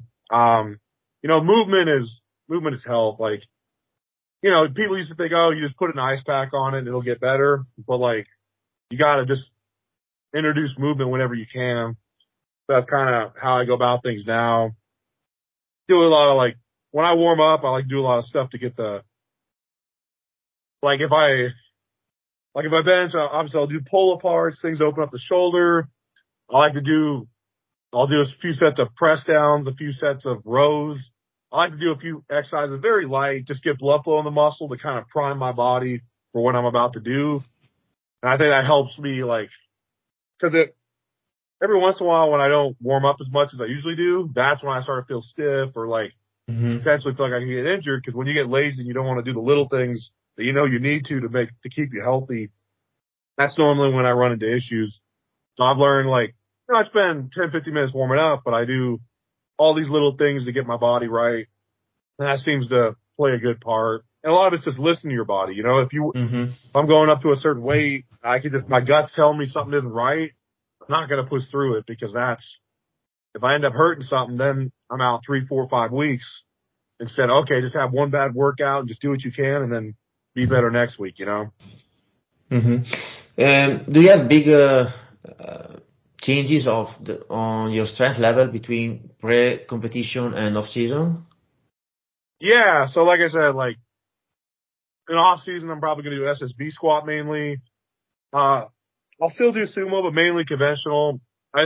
Movement is health. Like, people used to think, oh, you just put an ice pack on it and it'll get better. But like, you gotta just introduce movement whenever you can. That's kind of how I go about things now. Do a lot of when I warm up, I like to do a lot of stuff to get like if I, if I bench, obviously I'll do pull aparts, things open up the shoulder. I like to do I'll do a few sets of press downs, a few sets of rows. I like to do a few exercises very light, just get blood flow in the muscle to kind of prime my body for what I'm about to do. And I think that helps me cause every once in a while when I don't warm up as much as I usually do, that's when I start to feel stiff or Hmm. potentially feel like I can get injured. Cause when you get lazy and you don't want to do the little things that you need to keep you healthy, that's normally when I run into issues. So I've learned I spend 10, 15 minutes warming up, but I do all these little things to get my body right. And that seems to play a good part. And a lot of it's just listening to your body. Hmm. If I'm going up to a certain weight, my gut's telling me something isn't right. I'm not going to push through it because if I end up hurting something, then I'm out 3, 4, 5 weeks instead. Okay, just have one bad workout and just do what you can and then be better next week. Hmm. Do you have big changes on your strength level between pre-competition and off-season? Yeah. So like I said, in off season, I'm probably going to do SSB squat mainly. Uh, I'll still do sumo, but mainly conventional.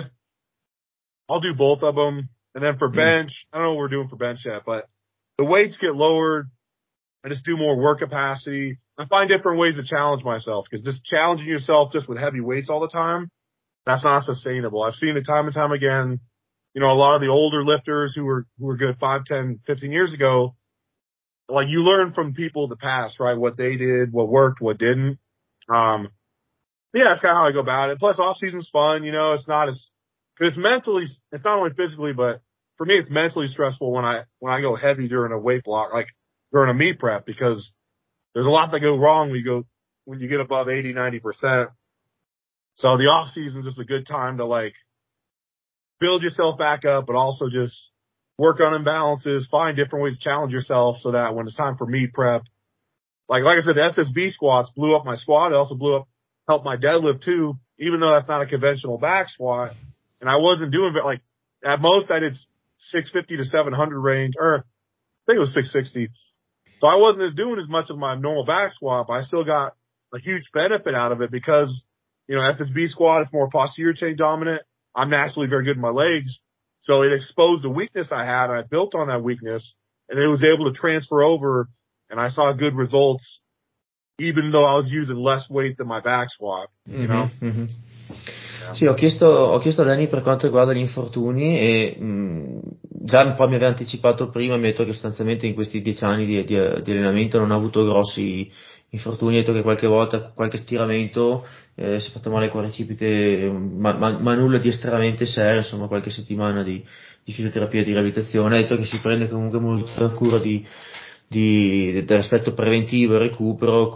I'll do both of them. And then for Mm. bench, I don't know what we're doing for bench yet, but the weights get lowered. I just do more work capacity. I find different ways to challenge myself because just challenging yourself just with heavy weights all the time, that's not sustainable. I've seen it time and time again. A lot of the older lifters who were good 5, 10, 15 years ago, you learn from people of the past, right? What they did, what worked, what didn't. Um, yeah, that's kind of how I go about it. Plus off season's fun, it's not as, cause it's not only physically, but for me, it's mentally stressful when I go heavy during a weight block. Like during a meet prep, because there's a lot that go wrong when you get above 80-90%. So the off season is just a good time to like build yourself back up, but also just work on imbalances, find different ways to challenge yourself so that when it's time for meet prep, like I said, the SSB squats blew up my squat. It also helped my deadlift too, even though that's not a conventional back squat. And I wasn't doing, but like at most I did 650 to 700 range, or I think it was 660. So I wasn't doing as much of my normal back squat, but I still got a huge benefit out of it because, SSB squat is more posterior chain dominant. I'm naturally very good in my legs. So it exposed the weakness I had, and I built on that weakness, and it was able to transfer over, and I saw good results, even though I was using less weight than my back squat, Mm-hmm, mm-hmm. Yeah. Sì, ho chiesto a Danny per quanto riguarda gli infortuni e già un po' mi aveva anticipato prima, mi ha detto che sostanzialmente in questi 10 anni di allenamento non ha avuto grossi infortuni, ha detto che qualche volta, qualche stiramento, si è fatto male il quadricipite, ma nulla di estremamente serio, insomma qualche settimana di fisioterapia e di riabilitazione, ha detto che si prende comunque molta cura dell'aspetto preventivo e recupero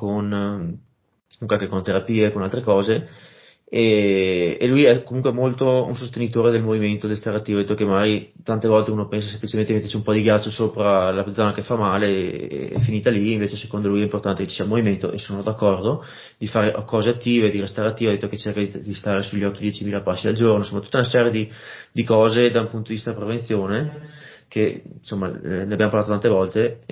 con terapie e con altre cose. E lui è comunque molto un sostenitore del movimento, del stare attivo. Ha detto che magari tante volte uno pensa semplicemente di metterci un po' di ghiaccio sopra la zona che fa male e è finita lì, invece secondo lui è importante che ci sia movimento, e sono d'accordo, di fare cose attive, di restare attivo. Ha detto che cerca di stare sugli 8-10 mila passi al giorno, insomma tutta una serie di cose da un punto di vista prevenzione che insomma ne abbiamo parlato tante volte.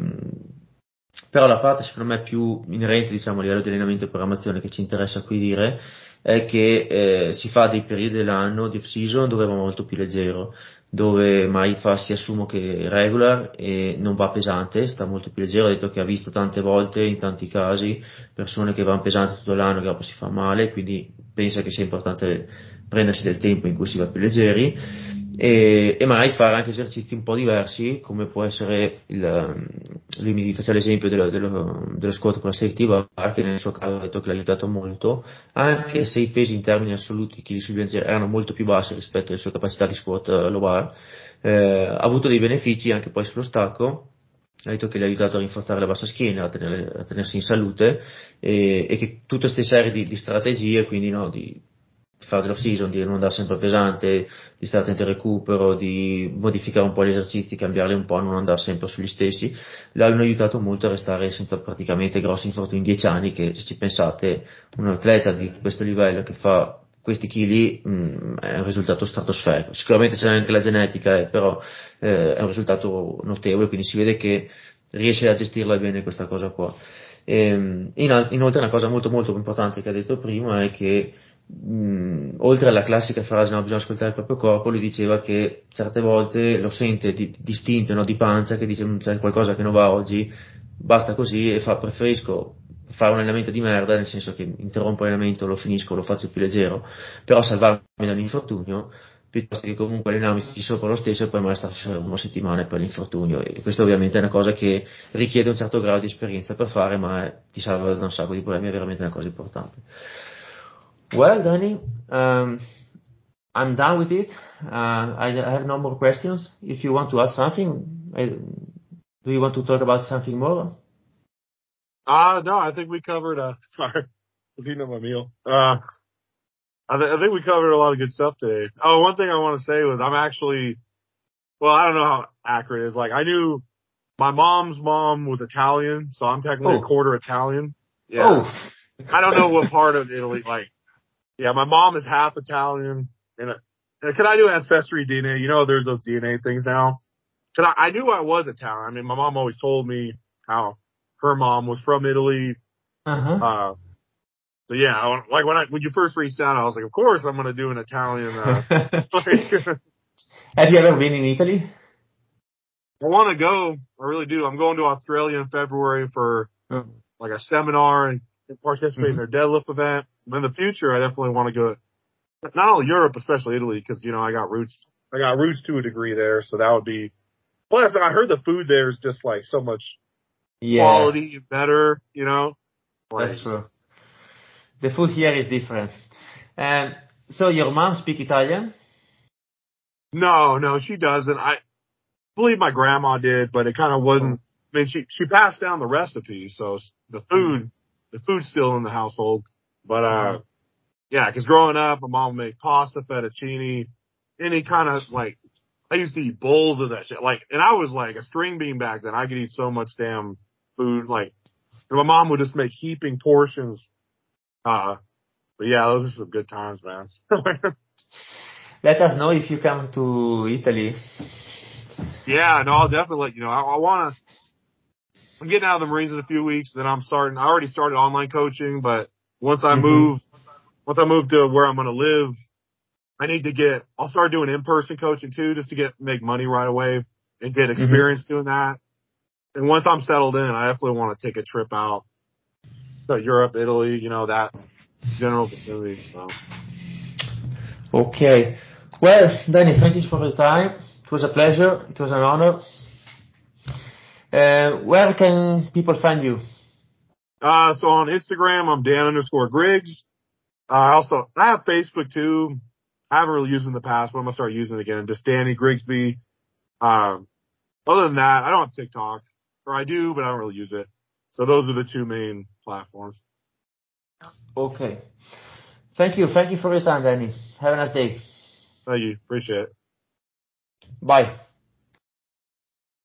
Però la parte secondo me più inerente, diciamo, a livello di allenamento e programmazione che ci interessa qui dire è che si fa dei periodi dell'anno di off-season dove va molto più leggero, dove mai fa sia sumo che regular e non va pesante, sta molto più leggero. Ha detto che ha visto tante volte, in tanti casi, persone che vanno pesanti tutto l'anno che dopo si fa male, quindi pensa che sia importante prendersi del tempo in cui si va più leggeri. E magari fare anche esercizi un po' diversi, come può essere lui mi faceva l'esempio dello squat con la safety bar, che nel suo caso ha detto che l'ha aiutato molto, anche se i pesi in termini assoluti, chili sul bilanciere, erano molto più bassi rispetto alle sue capacità di squat low bar. Ha avuto dei benefici anche poi sullo stacco. Ha detto che gli ha aiutato a rinforzare la bassa schiena, a tenersi in salute, e che tutte queste serie di strategie, quindi no, di fare l'off season, di non andare sempre pesante, di stare attento al recupero, di modificare un po' gli esercizi, cambiarli un po', non andare sempre sugli stessi, l'hanno aiutato molto a restare senza praticamente grossi infortuni in 10 anni, che se ci pensate, un atleta di questo livello che fa questi chili è un risultato stratosferico. Sicuramente c'è anche la genetica, però è un risultato notevole, quindi si vede che riesce a gestirla bene questa cosa qua. Inoltre una cosa molto molto importante che ha detto prima è che oltre alla classica frase no, bisogna ascoltare il proprio corpo, lui diceva che certe volte lo sente distinto, no, di pancia, che dice c'è qualcosa che non va oggi, basta così, e preferisco fare un allenamento di merda, nel senso che interrompo l'allenamento, lo finisco, lo faccio più leggero, però salvarmi dall'infortunio, piuttosto che comunque allenarmi sopra lo stesso e poi magari stare una settimana per l'infortunio. E questo ovviamente è una cosa che richiede un certo grado di esperienza per fare, ma ti salva da un sacco di problemi, è veramente una cosa importante. Well, Danny, I'm done with it. I have no more questions. If you want to ask something, do you want to talk about something more? No, I think we covered, sorry, I was eating up my meal. I think we covered a lot of good stuff today. Oh, one thing I want to say was I don't know how accurate it is. Like, I knew my mom's mom was Italian, so I'm technically a quarter Italian. Yeah. Oh. I don't know what part of Italy, like, yeah, my mom is half Italian. And can I do ancestry DNA? There's those DNA things now. Cause I knew I was Italian. I mean, my mom always told me how her mom was from Italy. Uh-huh. So yeah, like when you first reached out, I was like, of course I'm going to do an Italian, Have you ever been in Italy? I want to go. I really do. I'm going to Australia in February for like a seminar and participate in their deadlift event. But in the future, I definitely want to go not only Europe, especially Italy, because, I got roots to a degree there. So that would be, plus I heard the food there is just like so much quality better, Like, that's true. The food here is different. And so your mom speak Italian? No, she doesn't. I believe my grandma did, but it kind of wasn't I mean, she passed down the recipe, so the food's still in the household. But yeah, 'cause growing up, my mom would make pasta, fettuccine, any kind of like. I used to eat bowls of that shit. Like, and I was like a string bean back then. I could eat so much damn food. Like, and my mom would just make heaping portions. But yeah, those are some good times, man. Let us know if you come to Italy. Yeah, no, I'll definitely let you know. I want to. I'm getting out of the Marines in a few weeks. Then I already started online coaching, but once I Mm-hmm. move, to where I'm going to live, I'll start doing in-person coaching too, just to make money right away and get Mm-hmm. experience doing that. And once I'm settled in, I definitely want to take a trip out to Europe, Italy, that general vicinity. So. Okay. Well, Danny, thank you for your time. It was a pleasure. It was an honor. Where can people find you? So on Instagram, I'm Dan_Griggs. I have Facebook too. I haven't really used it in the past, but I'm gonna start using it again. Just Danny Grigsby. Other than that, I don't have TikTok, or I do, but I don't really use it. So those are the two main platforms. Okay. Thank you. Thank you for your time, Danny. Have a nice day. Thank you. Appreciate it. Bye.